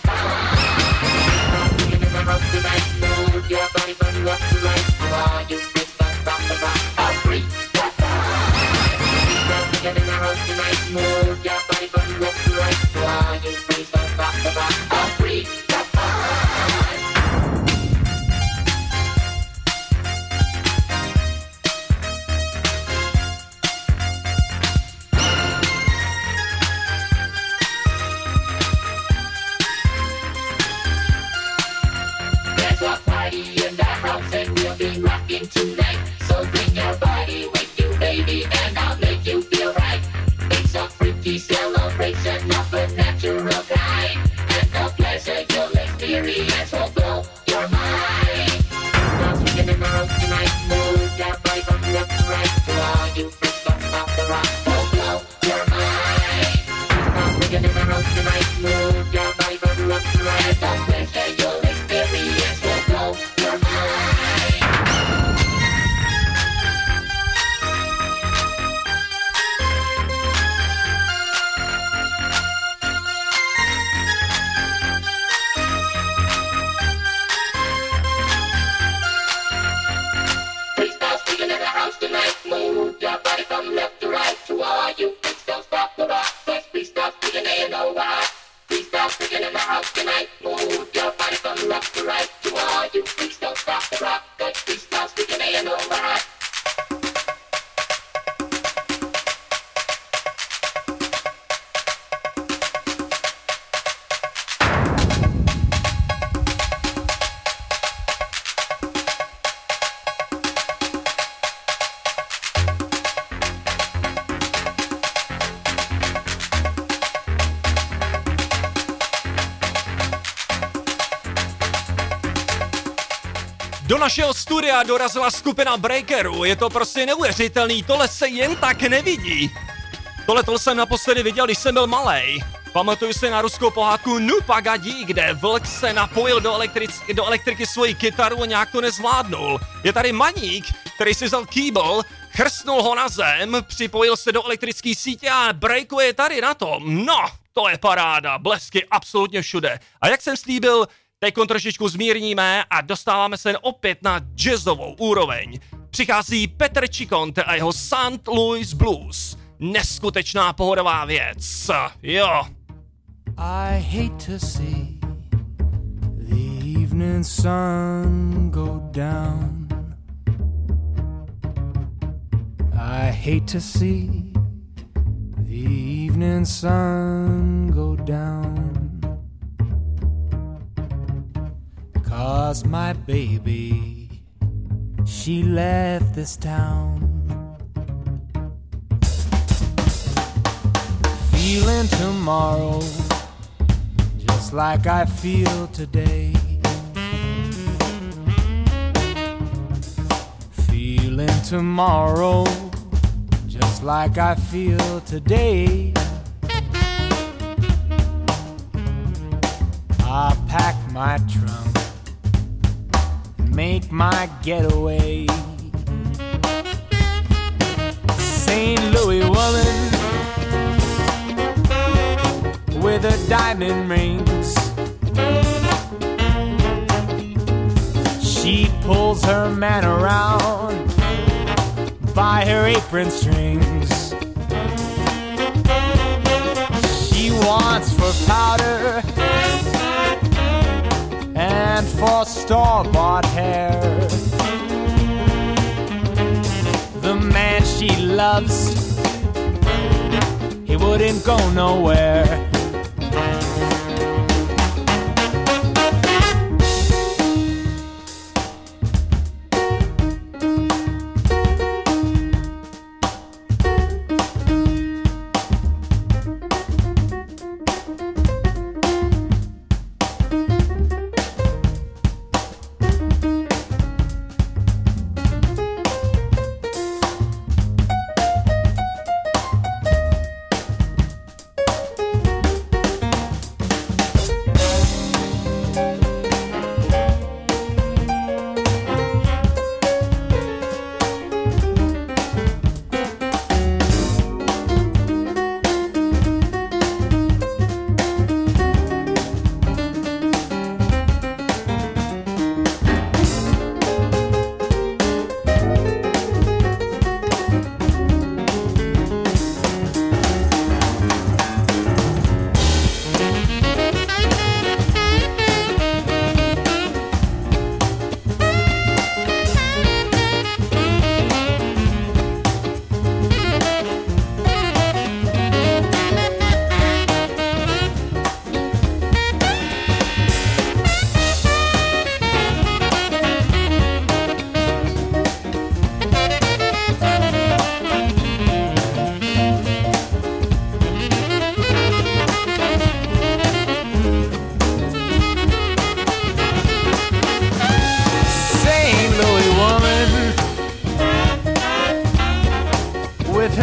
In the house tonight, move your body from left to right. While you freestyle, rock the rock, a freak. In the house tonight, move your body from left to right. While you freestyle, rock the rock, a freak. Tonight, so bring your body with you, baby, and I'll make you feel right. It's a freaky celebration of a natural kind, and the pleasure you'll experience will blow your mind. Don't get in the house tonight, move your body from left to right. To all you freaks, don't stop the rock, will blow your mind. Don't get in the house tonight, move your body from left to right. The pleasure you'll experience will blow your mind. Do našeho studia dorazila skupina Breakerů, je to prostě neuvěřitelný, tohle se jen tak nevidí. Tohle jsem naposledy viděl, když jsem byl malej. Pamatuju si na ruskou pohádku Nu Pagadi, kde vlk se napojil do, elektric- do elektriky svoji kytaru a nějak to nezvládnul. Je tady Maník, který si vzal kýbl, chrstnul ho na zem, připojil se do elektrické sítě a breakuje tady na tom. No, to je paráda, blesky absolutně všude. A jak jsem slíbil, teď trošičku zmírníme a dostáváme se opět na jazzovou úroveň. Přichází Petr Čikont a jeho Saint Louis Blues. Neskutečná pohodová věc. Jo. I hate to see the evening sun go down. I hate to see the evening sun go down. 'Cause my baby, she left this town. Feeling tomorrow just like I feel today. Feeling tomorrow just like I feel today. I pack my trunk and make my getaway. Saint Louis woman with her diamond rings, she pulls her man around by her apron strings. She wants for powder and for store-bought hair. The man she loves, he wouldn't go nowhere.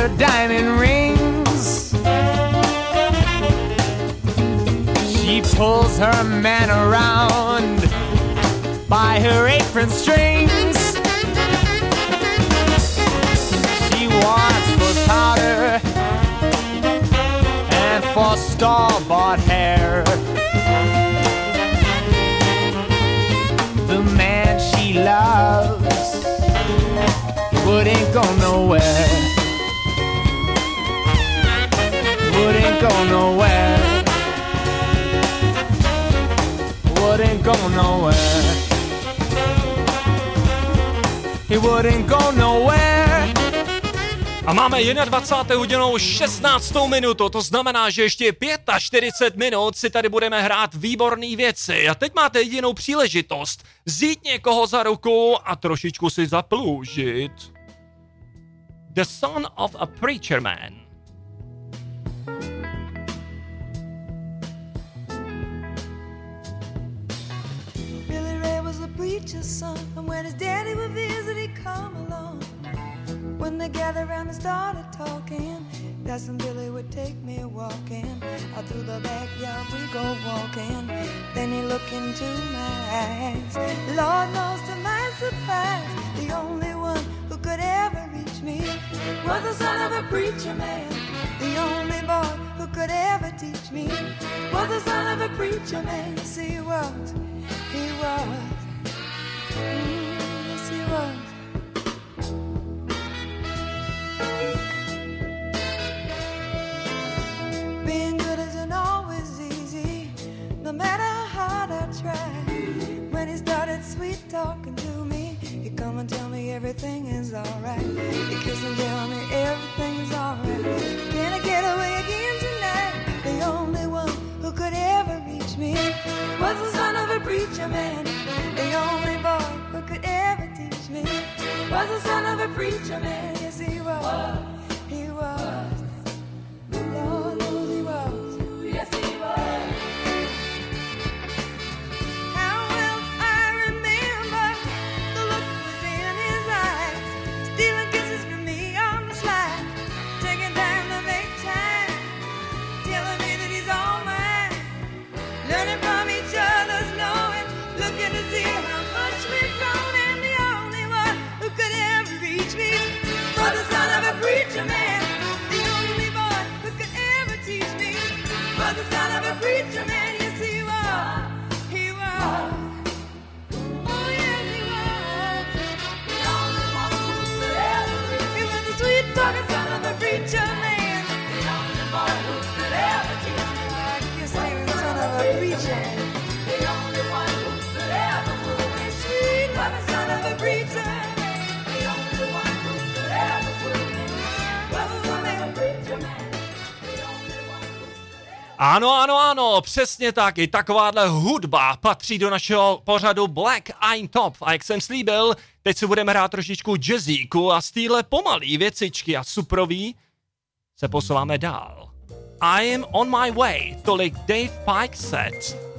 her diamond rings. She pulls her man around by her apron strings. She wants for powder and for store-bought hair. The man she loves wouldn't go nowhere. Wouldn't go nowhere. Wouldn't go nowhere. He wouldn't go nowhere. A máme dvacátou první hodinou šestnáctou minutu, to znamená, že ještě čtyřicet pět minut si tady budeme hrát výborné věci. A teď máte jedinou příležitost vzít někoho za ruku a trošičku si zaploužit. The Son of a Preacher Man. Billy Ray was a preacher's son, and when his daddy would visit, he'd come along. When they gathered around and started talking, that's when Billy would take me walking. Out through the backyard we go walking. Then he looked into my eyes. Lord knows to my surprise, the only one who could ever reach me was the son of a preacher man. The only boy who could ever teach me was the son of a preacher man. Yes, he was. He was. Mm, yes, he was. Being good isn't always easy, no matter how hard I try. When he started sweet talking to me, he'd come and tell me everything is alright. He'd kiss and tell me everything is alright. Can I get away again tonight? The only one who could ever reach me was the son of a preacher man. The only boy who could ever teach me was the son of a preacher man. Yes, he was. He was. Lord knows he was. Yes, he was. How well I remember the look was in his eyes, stealing kisses from me on the slide, taking time to make time, telling me that he's all mine, learning from each other's knowing, looking to see how much we've grown, and the only one who could ever reach me was the son of a preacher man. The only boy who could ever teach me was the son of a preacher man. Yes, he was. He was. Oh, yes, he was. The only one who could ever reach me. He was the sweet talking son of a preacher man. The only boy who could ever teach me. I guess he was the son of a preacher. The only one who could ever fool me. Sweet was the son of a preacher man. The only one who could ever fool me was the son of a preacher man. Ano, ano, ano, přesně tak, i takováhle hudba patří do našeho pořadu Black I'm Top. A jak jsem slíbil, teď si budeme hrát trošičku jazzíku a z téhle pomalý věcičky a suprový se posouváme dál. I am on my way, tolik Dave Pike set.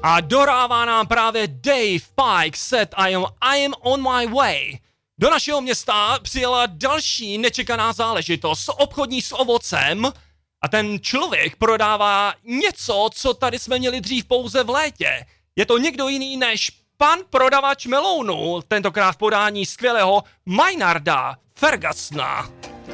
A dorává nám právě Dave Pike set I am, I am on my way. Do našeho města přijela další nečekaná záležitost, obchodní s ovocem, a ten člověk prodává něco, co tady jsme měli dřív pouze v létě. Je to někdo jiný než pan prodavač melounu, tentokrát v podání skvělého Maynarda Fergusona.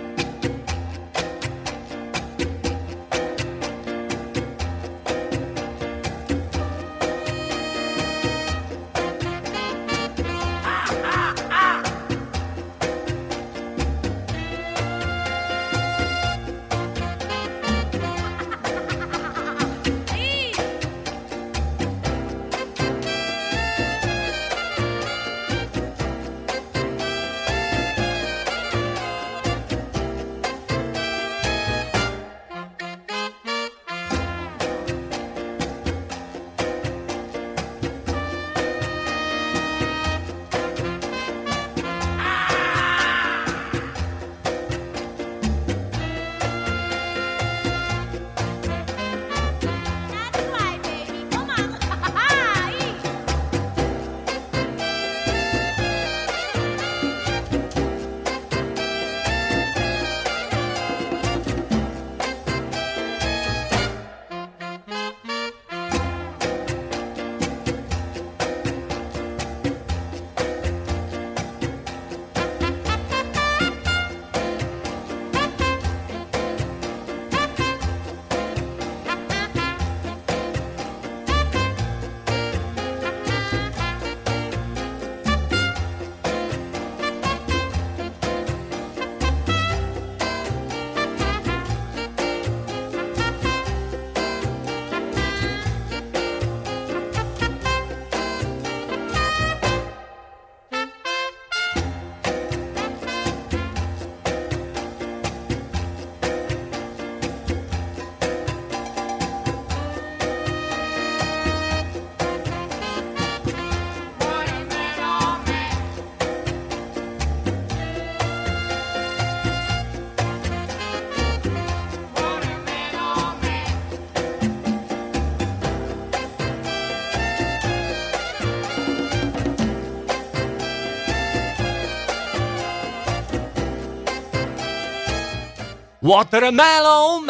Watermelon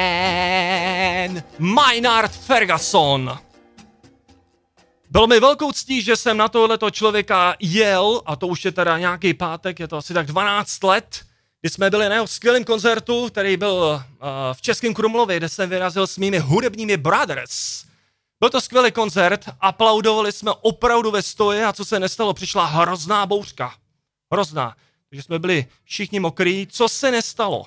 Man, Maynard Ferguson. Bylo mi velkou ctí, že jsem na tohleto člověka jel, a to už je teda nějaký pátek, je to asi tak dvanáct let, kdy jsme byli na jeho skvělém koncertu, který byl uh, v Českém Krumlově, kde jsem vyrazil s mými hudebními brothers. Byl to skvělý koncert, aplaudovali jsme opravdu ve stoji, a co se nestalo, přišla hrozná bouřka. Hrozná. Takže jsme byli všichni mokrý. Co se nestalo?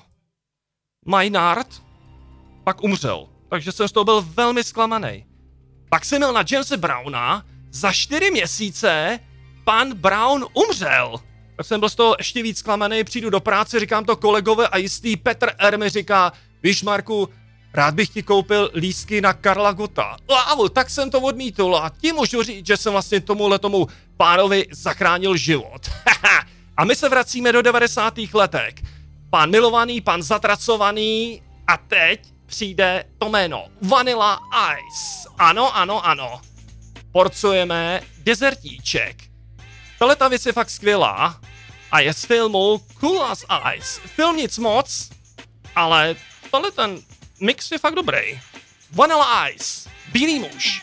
Maynard pak umřel, takže jsem z toho byl velmi zklamaný. Pak jsem měl na Jamese Browna, za čtyři měsíce pan Brown umřel. Tak jsem byl z toho ještě víc zklamaný, přijdu do práce, říkám to kolegové a jistý Petr R. mi říká, víš Marku, rád bych ti koupil lístky na Karla Gotta. Wow, tak jsem to odmítl a ti můžu říct, že jsem vlastně tomuhle tomu pánovi zachránil život. A my se vracíme do devadesátých letech. Pan milovaný, pan zatracovaný a teď přijde to jméno Vanilla Ice. Ano, ano, ano. Porcujeme dezertíček. Tahle ta věc je fakt skvělá a je z filmu Cool as Ice. Film nic moc, ale tohle ten mix je fakt dobrý. Vanilla Ice, bílý muž.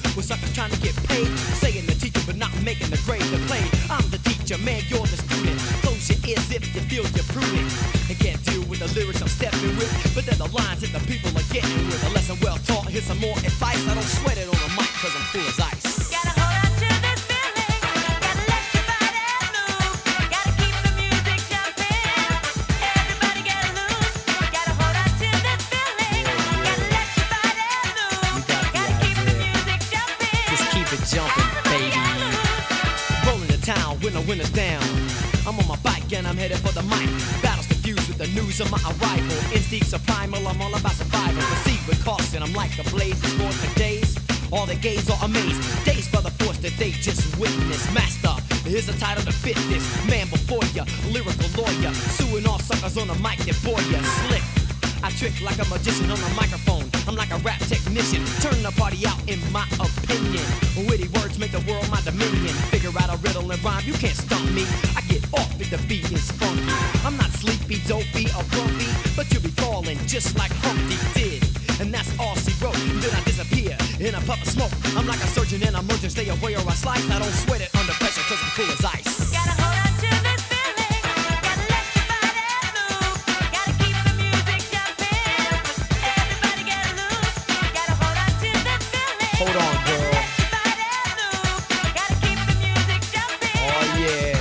with suckers trying to get paid. Saying the teacher but not making the grade to play. I'm the teacher, man, you're the student. Close your ears if you feel you're prudent. And can't deal with the lyrics I'm stepping with, but they're the lines that the people are getting with. A lesson well taught, here's some more advice. I don't sweat it on the mic cause I'm cool as ice. Gotta hold on to this feeling, gotta let your body move, gotta keep the music jumping, everybody get loose, gotta hold on to this feeling, gotta let your body move, gotta keep the music jumping. Just keep it jumping, baby. Rolling to town when the winter's down. I'm on my bike and I'm headed for the mic. Battles confused with the news of my arrival. Instincts are primal, I'm all about survival. Proceed with caution, I'm like a blaze. Born for days, all the gays are amazed. Dazed by the force that they just witnessed. Master, here's a title to fit this. Man before ya, lyrical lawyer. Suing all suckers on the mic that bore ya. Slick, I trick like a magician on the microphone. I'm like a rap technician, turn the party out in my opinion. Witty words make the world my dominion. Figure out a riddle and rhyme, you can't stump me. I get off if the beat is funky. I'm not sleepy, dopey, or grumpy, but you'll be falling just like Humpty did. And that's all she wrote. Then I disappear in a puff of smoke. I'm like a surgeon in emergency, stay away or I slice. I don't sweat it under pressure cause I'm cool as ice. Gotta hold on to this feeling, gotta let your body move, gotta keep the music jumping, everybody get loose, gotta hold on to this feeling. Hold on, girl. Gotta keep the music jumping. Oh yeah.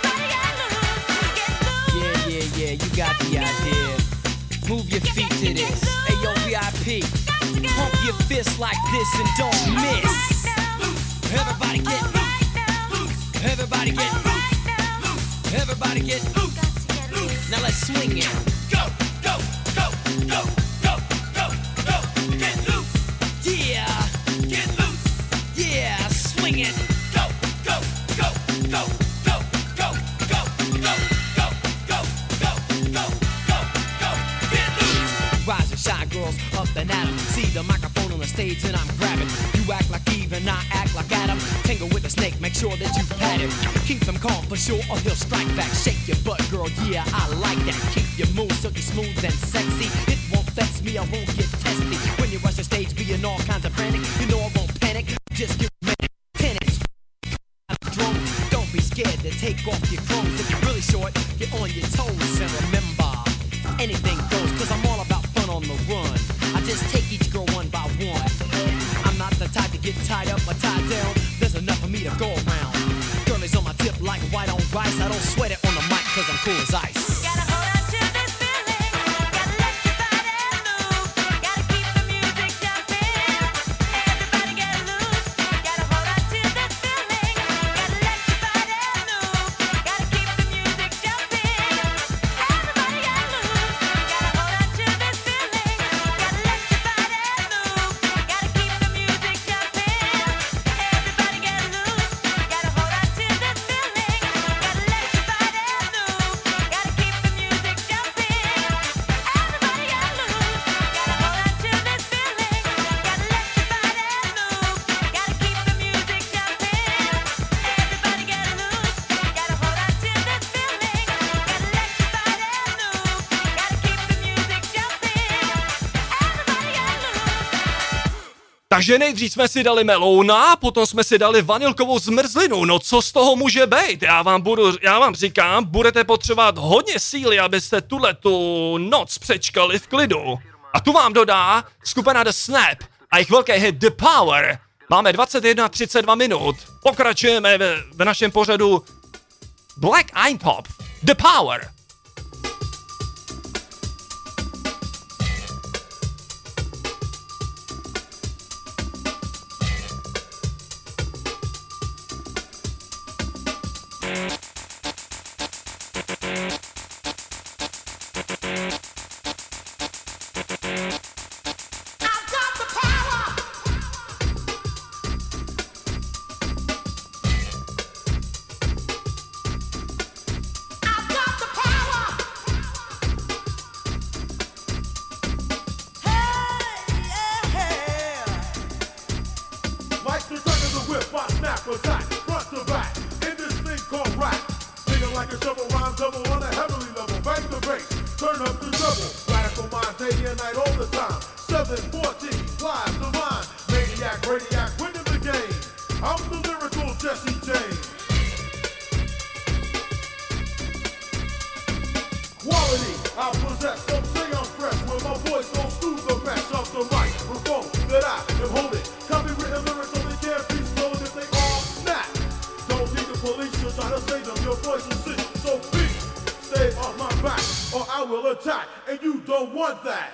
Yeah, yeah, yeah, you got the idea. Move your feet to this. Hey yo, V I P. Pump your fists like this and don't miss. Everybody get loose. Everybody get loose. Everybody get loose. Now let's swing it. Go, go, go, go, go, go, go. Get loose. Yeah. Get loose. Yeah, swing it. Go, go, go, go, go, go, go, go, go, go, go, go, go, go. Get loose. Rise and shine, girls, up and at 'em. See the microphone on the stage and I'm grabbing. You act like Eve and I act like Adam. Tangle with the snake, make sure that you pat him. Keep him calm for sure or he'll strike back. Shake your butt, girl, yeah, I like that. Keep your moves silky smooth and sexy. It won't vex me, I won't get testy. When you rush the stage being all kinds of frantic, you know I won't panic. Just give me ten inch drones. Don't be scared to take off your clothes. If you're really short, get on your toes. And remember, anything goes, cause I'm all about fun on the run. I just take each girl one by one. I'm not the type to get tied up or tied down. There's enough of me to go around. Girl is on my tip like white on rice. I don't sweat it on the mic cause I'm cool as ice. Gotta hold on to this feeling, gotta let your body move, gotta keep the music jumping, everybody get loose, gotta hold on to this feeling, gotta let your body move, gotta keep the music jumping, everybody get loose, gotta hold on to this feeling, gotta let your body move, gotta keep the music jumping, everybody get loose, gotta hold on to this feeling, gotta let your body move, gotta keep the music jumping, everybody get loose, gotta hold on to this feeling, gotta let your body move, gotta keep the music jumping, everybody get loose, gotta hold on to this feeling, gotta let your body move, gotta keep the music jumping, everybody get loose. Takže nejdřív jsme si dali melouna, potom jsme si dali vanilkovou zmrzlinu. No co z toho může být? Já vám budu, já vám říkám, budete potřebovat hodně síly, abyste tuhletu noc přečkali v klidu. A tu vám dodá skupina The Snap a jejich velký hit The Power. Máme dvacet jedna třicet dva minut. Pokračujeme v, v našem pořadu Black Eintopf, The Power. Like the turn of the whip, I snap attack, front to back, in this thing called rap. Singing like a shovel, rhyme double on a heavenly level. Bang the bass, turn up the double. Radical mind, day and night, all the time. seven fourteen, live divine. Maniac, radiac, when to begin. don't want that.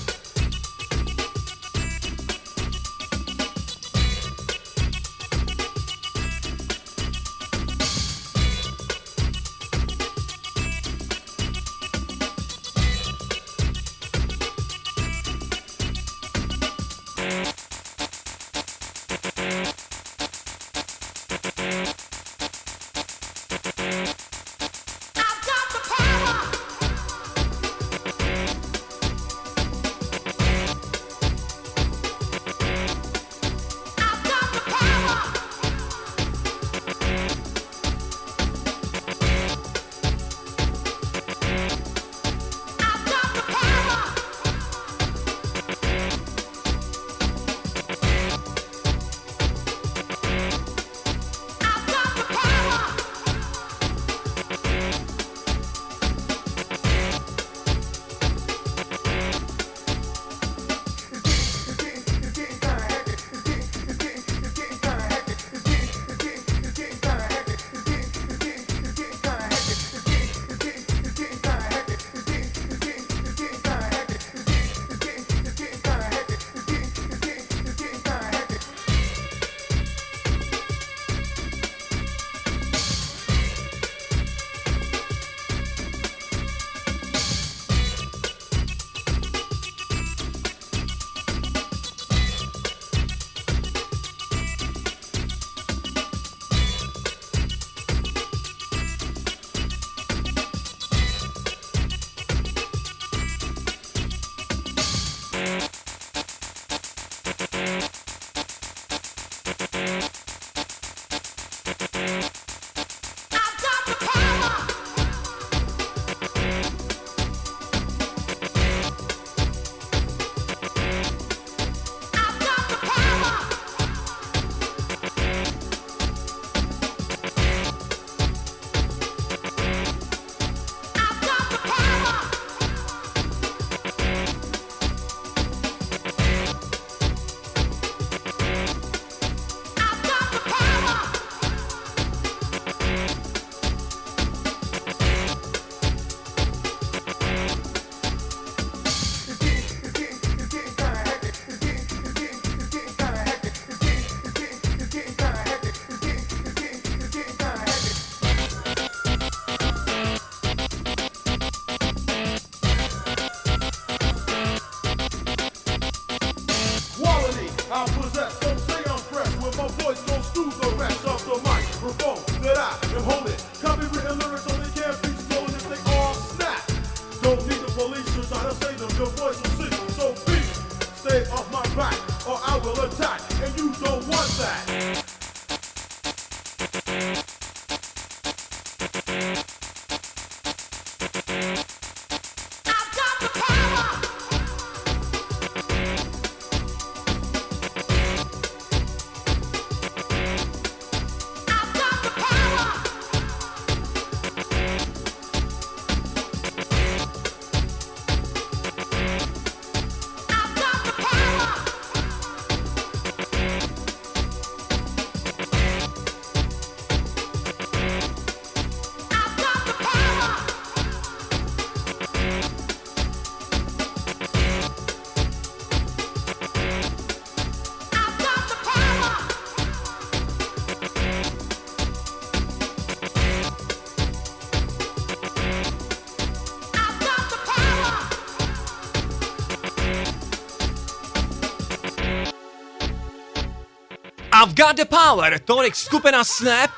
I've got the power, tolik skupina Snap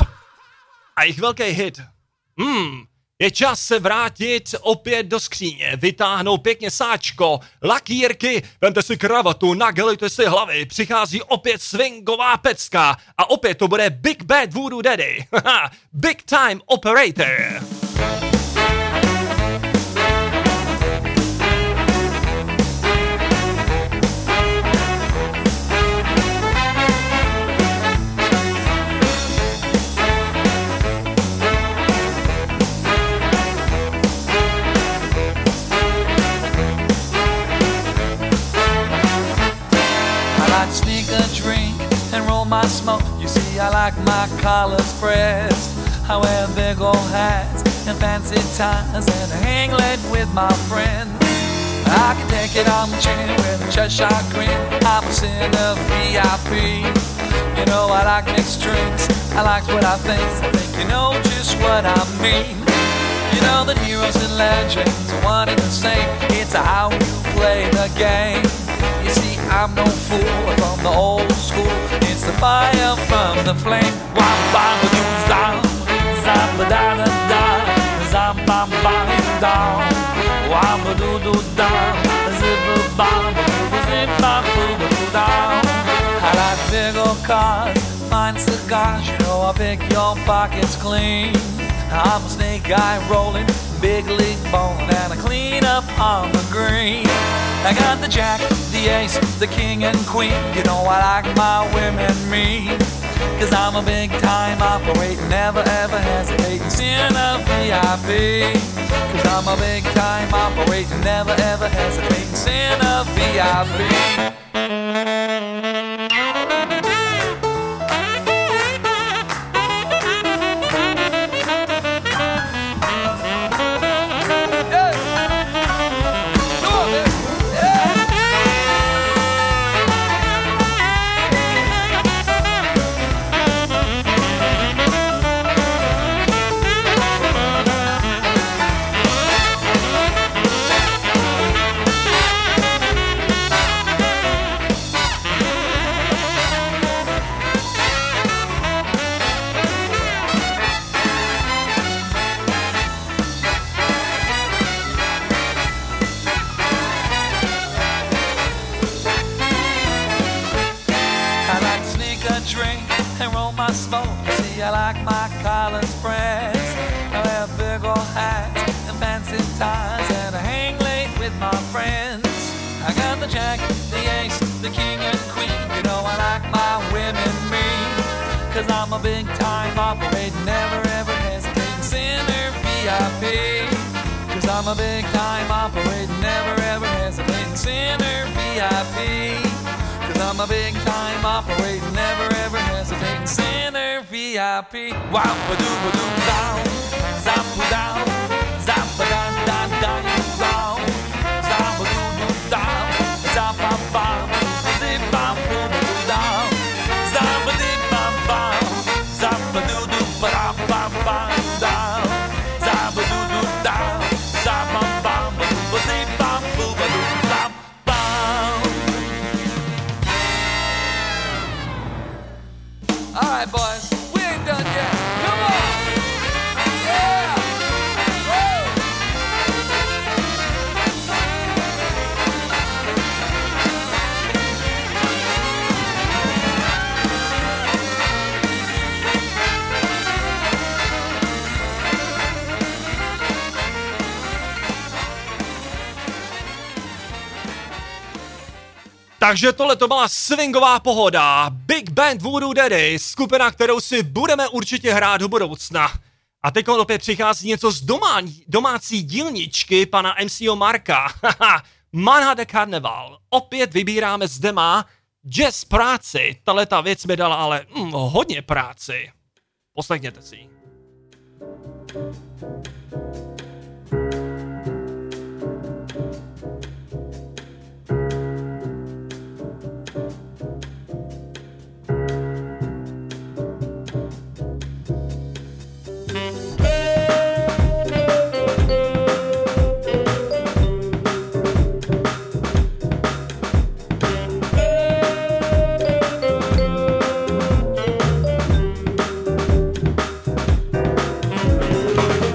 a jejich velký hit. Hmm, je čas se vrátit opět do skříně, vytáhnout pěkně sáčko, lakírky, vemte si kravatu, nagelujte si hlavy, přichází opět swingová pecka a opět to bude Big Bad Voodoo Daddy, Big Time Operator. My smoke, you see, I like my collars pressed. I wear big old hats and fancy ties and hang late with my friends. I can take it on the chin with a Cheshire grin. I'm a sin of V I P. You know I like mixed drinks, I like what I think. I think you know just what I mean. You know that heroes and legends are one and the same. It's how you play the game. You see, I'm no fool from the old school. It's the fire from the flame. Wah bam ba doo zam, zam ba da da da, zam bam bam down. Wah ba doo doo down, zip ba bam ba doo zip bam boo ba doo down. I like big old cars, fine cigars. You know I pick your pockets clean. I'm a snake guy rolling, big league bowling, and I clean up on the green. I got the jack, the ace, the king and queen. You know I like my women mean, cause I'm a big time operator, never ever hesitating, sin of V I P. Cause I'm a big time operator, never ever hesitating, sin of V I P. I'm a big time operator, never ever hesitating, sinner V I P. Cause I'm a big time operator, never ever hesitating, sinner V I P. Cause I'm a big time operator, never ever hesitating, sinner V I P. Wow, ba doo ba doo down, zap ba down, zap ba down, down, down, down, zap ba doo doo down, zap ba ba, zip ba boo ba doo down, zap ba dip ba ba. Ba doo doo ba da ba ba down, za ba doo doo down, za ba ba ba doo ba zee ba boo ba doo za ba. All right, boys, we ain't done yet. Come on, yeah, woo. Takže tohle to byla swingová pohoda, Big Band Voodoo Daddy, skupina, kterou si budeme určitě hrát do budoucna. A teď opět přichází něco z domá, domácí dílničky pana M C O Marka, Manhattan Carnival. Opět vybíráme zde má jazz práci, tahleta věc mi dala ale mm, hodně práci. Poslechněte si. Thank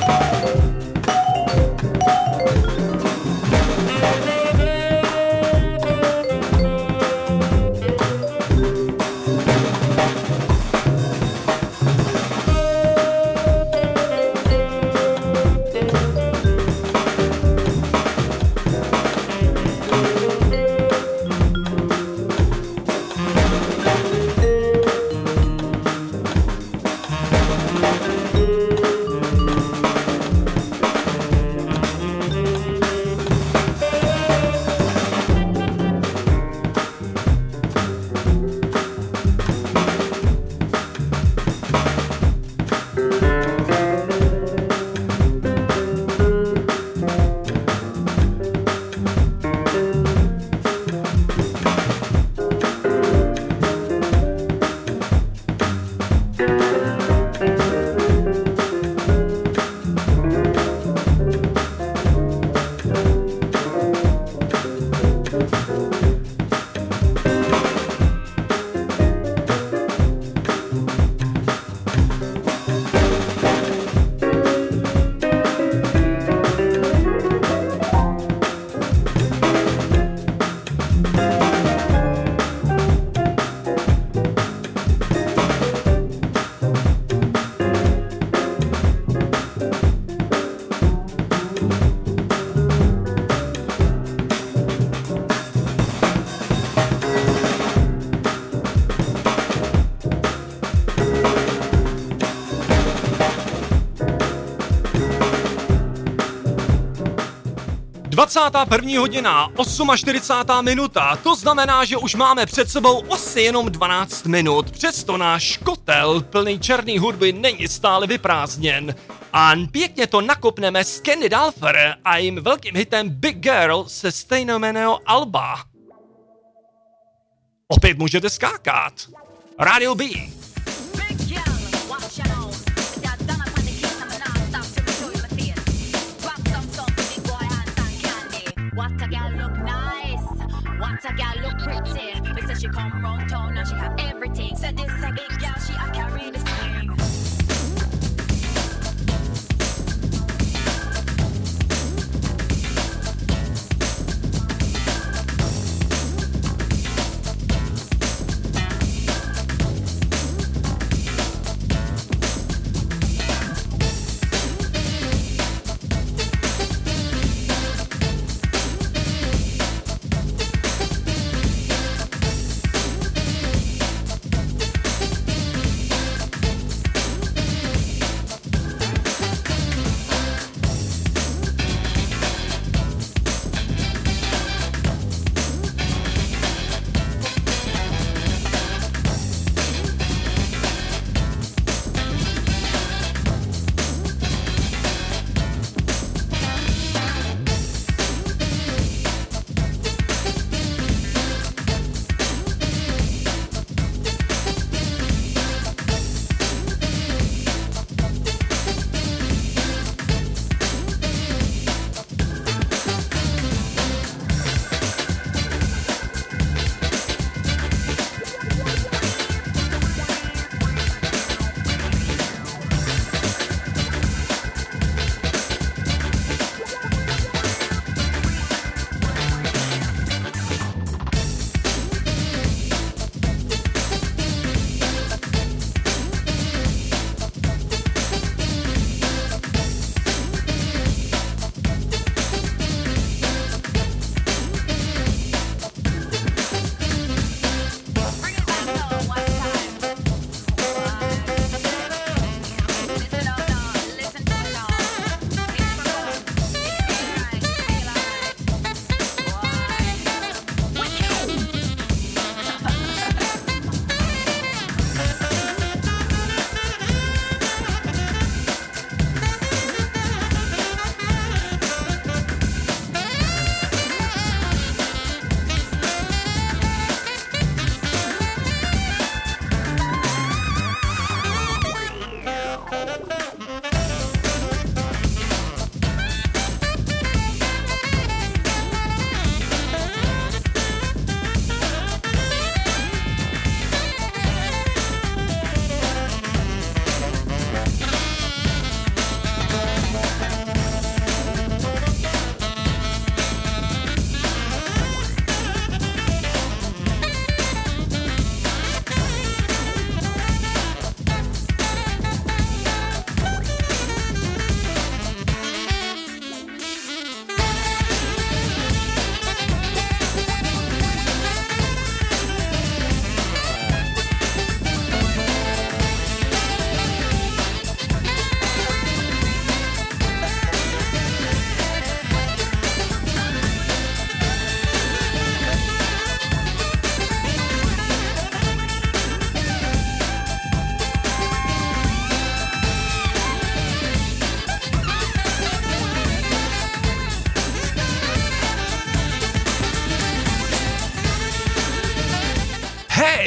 dvacátá první hodina, čtyřicátá osmá minuta, to znamená, že už máme před sebou asi jenom dvanáct minut, přesto náš kotel plný černý hudby není stále vyprázdněn. A pěkně to nakopneme s Candy Dulfer a jejím velkým hitem Big Girl se stejnojmenného alba. Opět můžete skákat. Radio B. What a gal look nice, what a gal look pretty. They say she come round town and she have everything. Said this a big gal, she a carry the swing.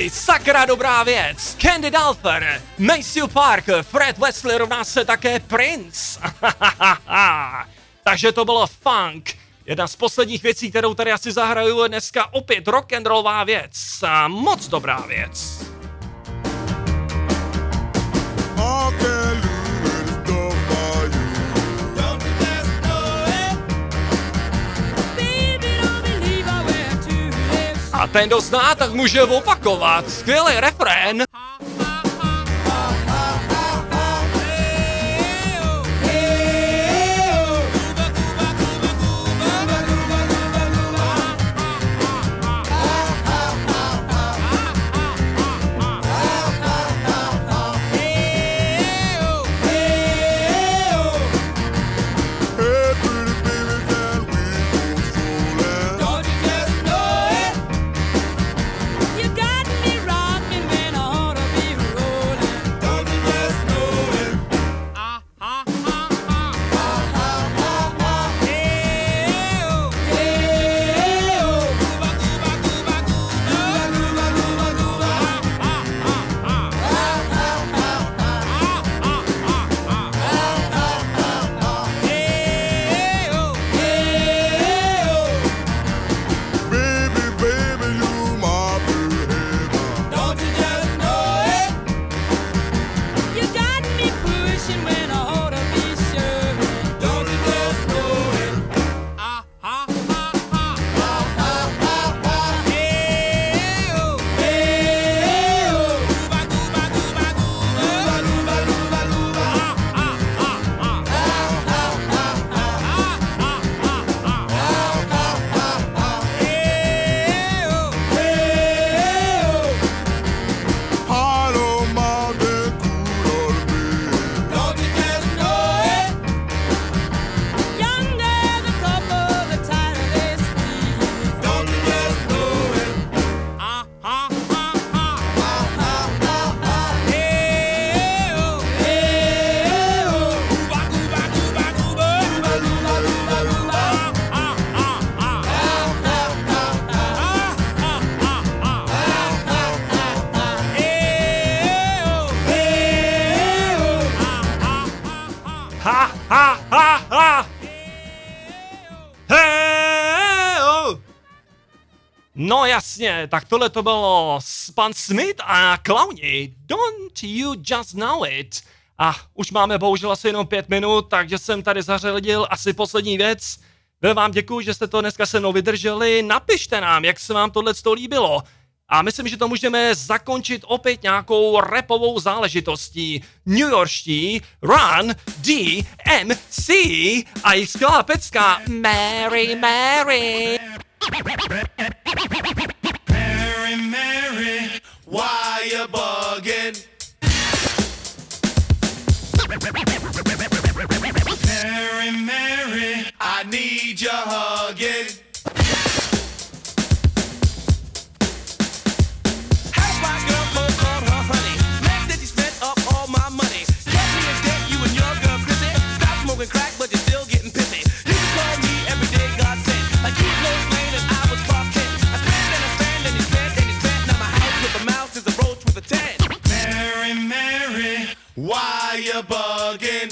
Hej, sakra dobrá věc. Candy Dulfer, Maceo Park, Fred Wesley rovná se také Prince. Takže to bylo funk. Jedna z posledních věcí, kterou tady asi zahraju, je dneska opět rock'n'rollová věc. A moc dobrá věc. A ten, kdo zná, tak může opakovat. Skvělý refrén. No jasně, tak tohle to bylo pan Smith a Clowni. Don't you just know it? A už máme bohužel asi jenom pět minut, takže jsem tady zařadil asi poslední věc. Velmi vám děkuji, že jste to dneska se mnou vydrželi. Napište nám, jak se vám tohle líbilo. A myslím, že to můžeme zakončit opět nějakou rapovou záležitostí. New Yorkští Run D M C a jejich skvělá pecka Mary Mary. Mary, Mary, why you bugging? Mary, Mary, I need your hugging. How's my girl called called her honey? Next that you spent up all my money. Get me in debt, you and your girl Chrissy. Stop smoking crack, but you're still getting pissy. You can call me every day, God sent. Like you Lois Lane and I was Clark Kent. I spend and I spend and you spend and you spend. Now my house with a mouse is a roach with a ten. Mary, Mary, why you bugging?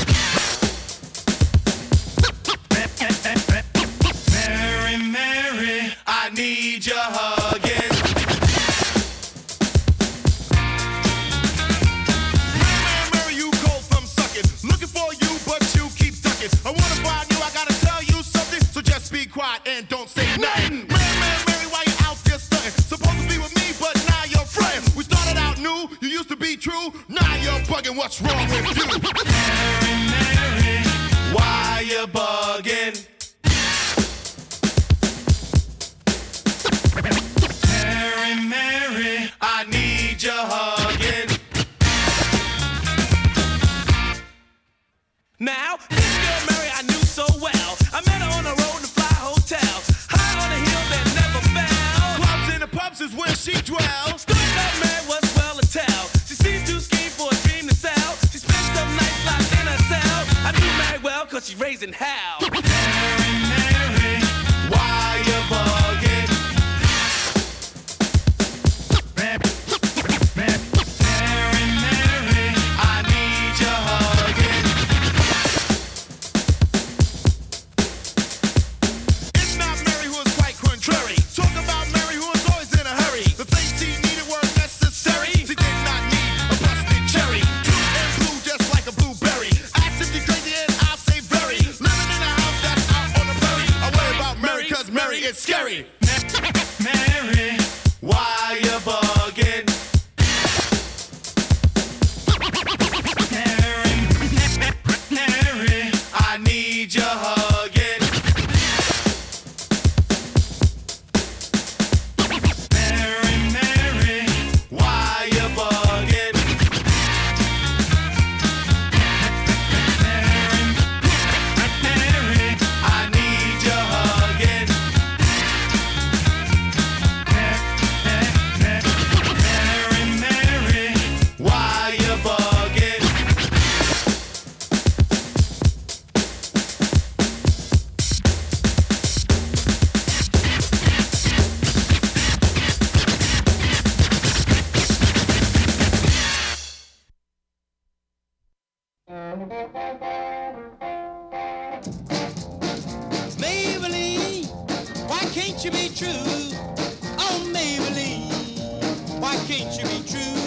Mary, Mary, I need your hugging. Mary, Mary, you go from sucking. Looking for you, but you keep ducking. I wanna find you, I gotta tell you something. So just be quiet and don't say nothing. Mary, Mary, Mary, why you out there stunting? Supposed to be with me, but now you're fronting. We started out new, you used to be true. Now you're bugging, what's wrong with you? Mary, Mary, why you bugging? Mary, Mary, I need your hugging. Now, this girl Mary I knew so well. I met her on the road in a fly hotel. High on a hill that never fell. Clubs and the pubs is where she dwells. Stood up Mary was well to tell. She seems to scheme for a dream to sell. She spent some nights locked in her cell. I knew Mary well cause she's raising hell. Mary, Mary, why you bugging? Mary, it's scary. Mary, why you bugging? Mary, Mary, I need your hugging. Mary, Mary, why you bugging? Mary, I need your hugging. Mary, Mary, why you bugging? Maybelline, why can't you be true? Oh, Maybelline, why can't you be true?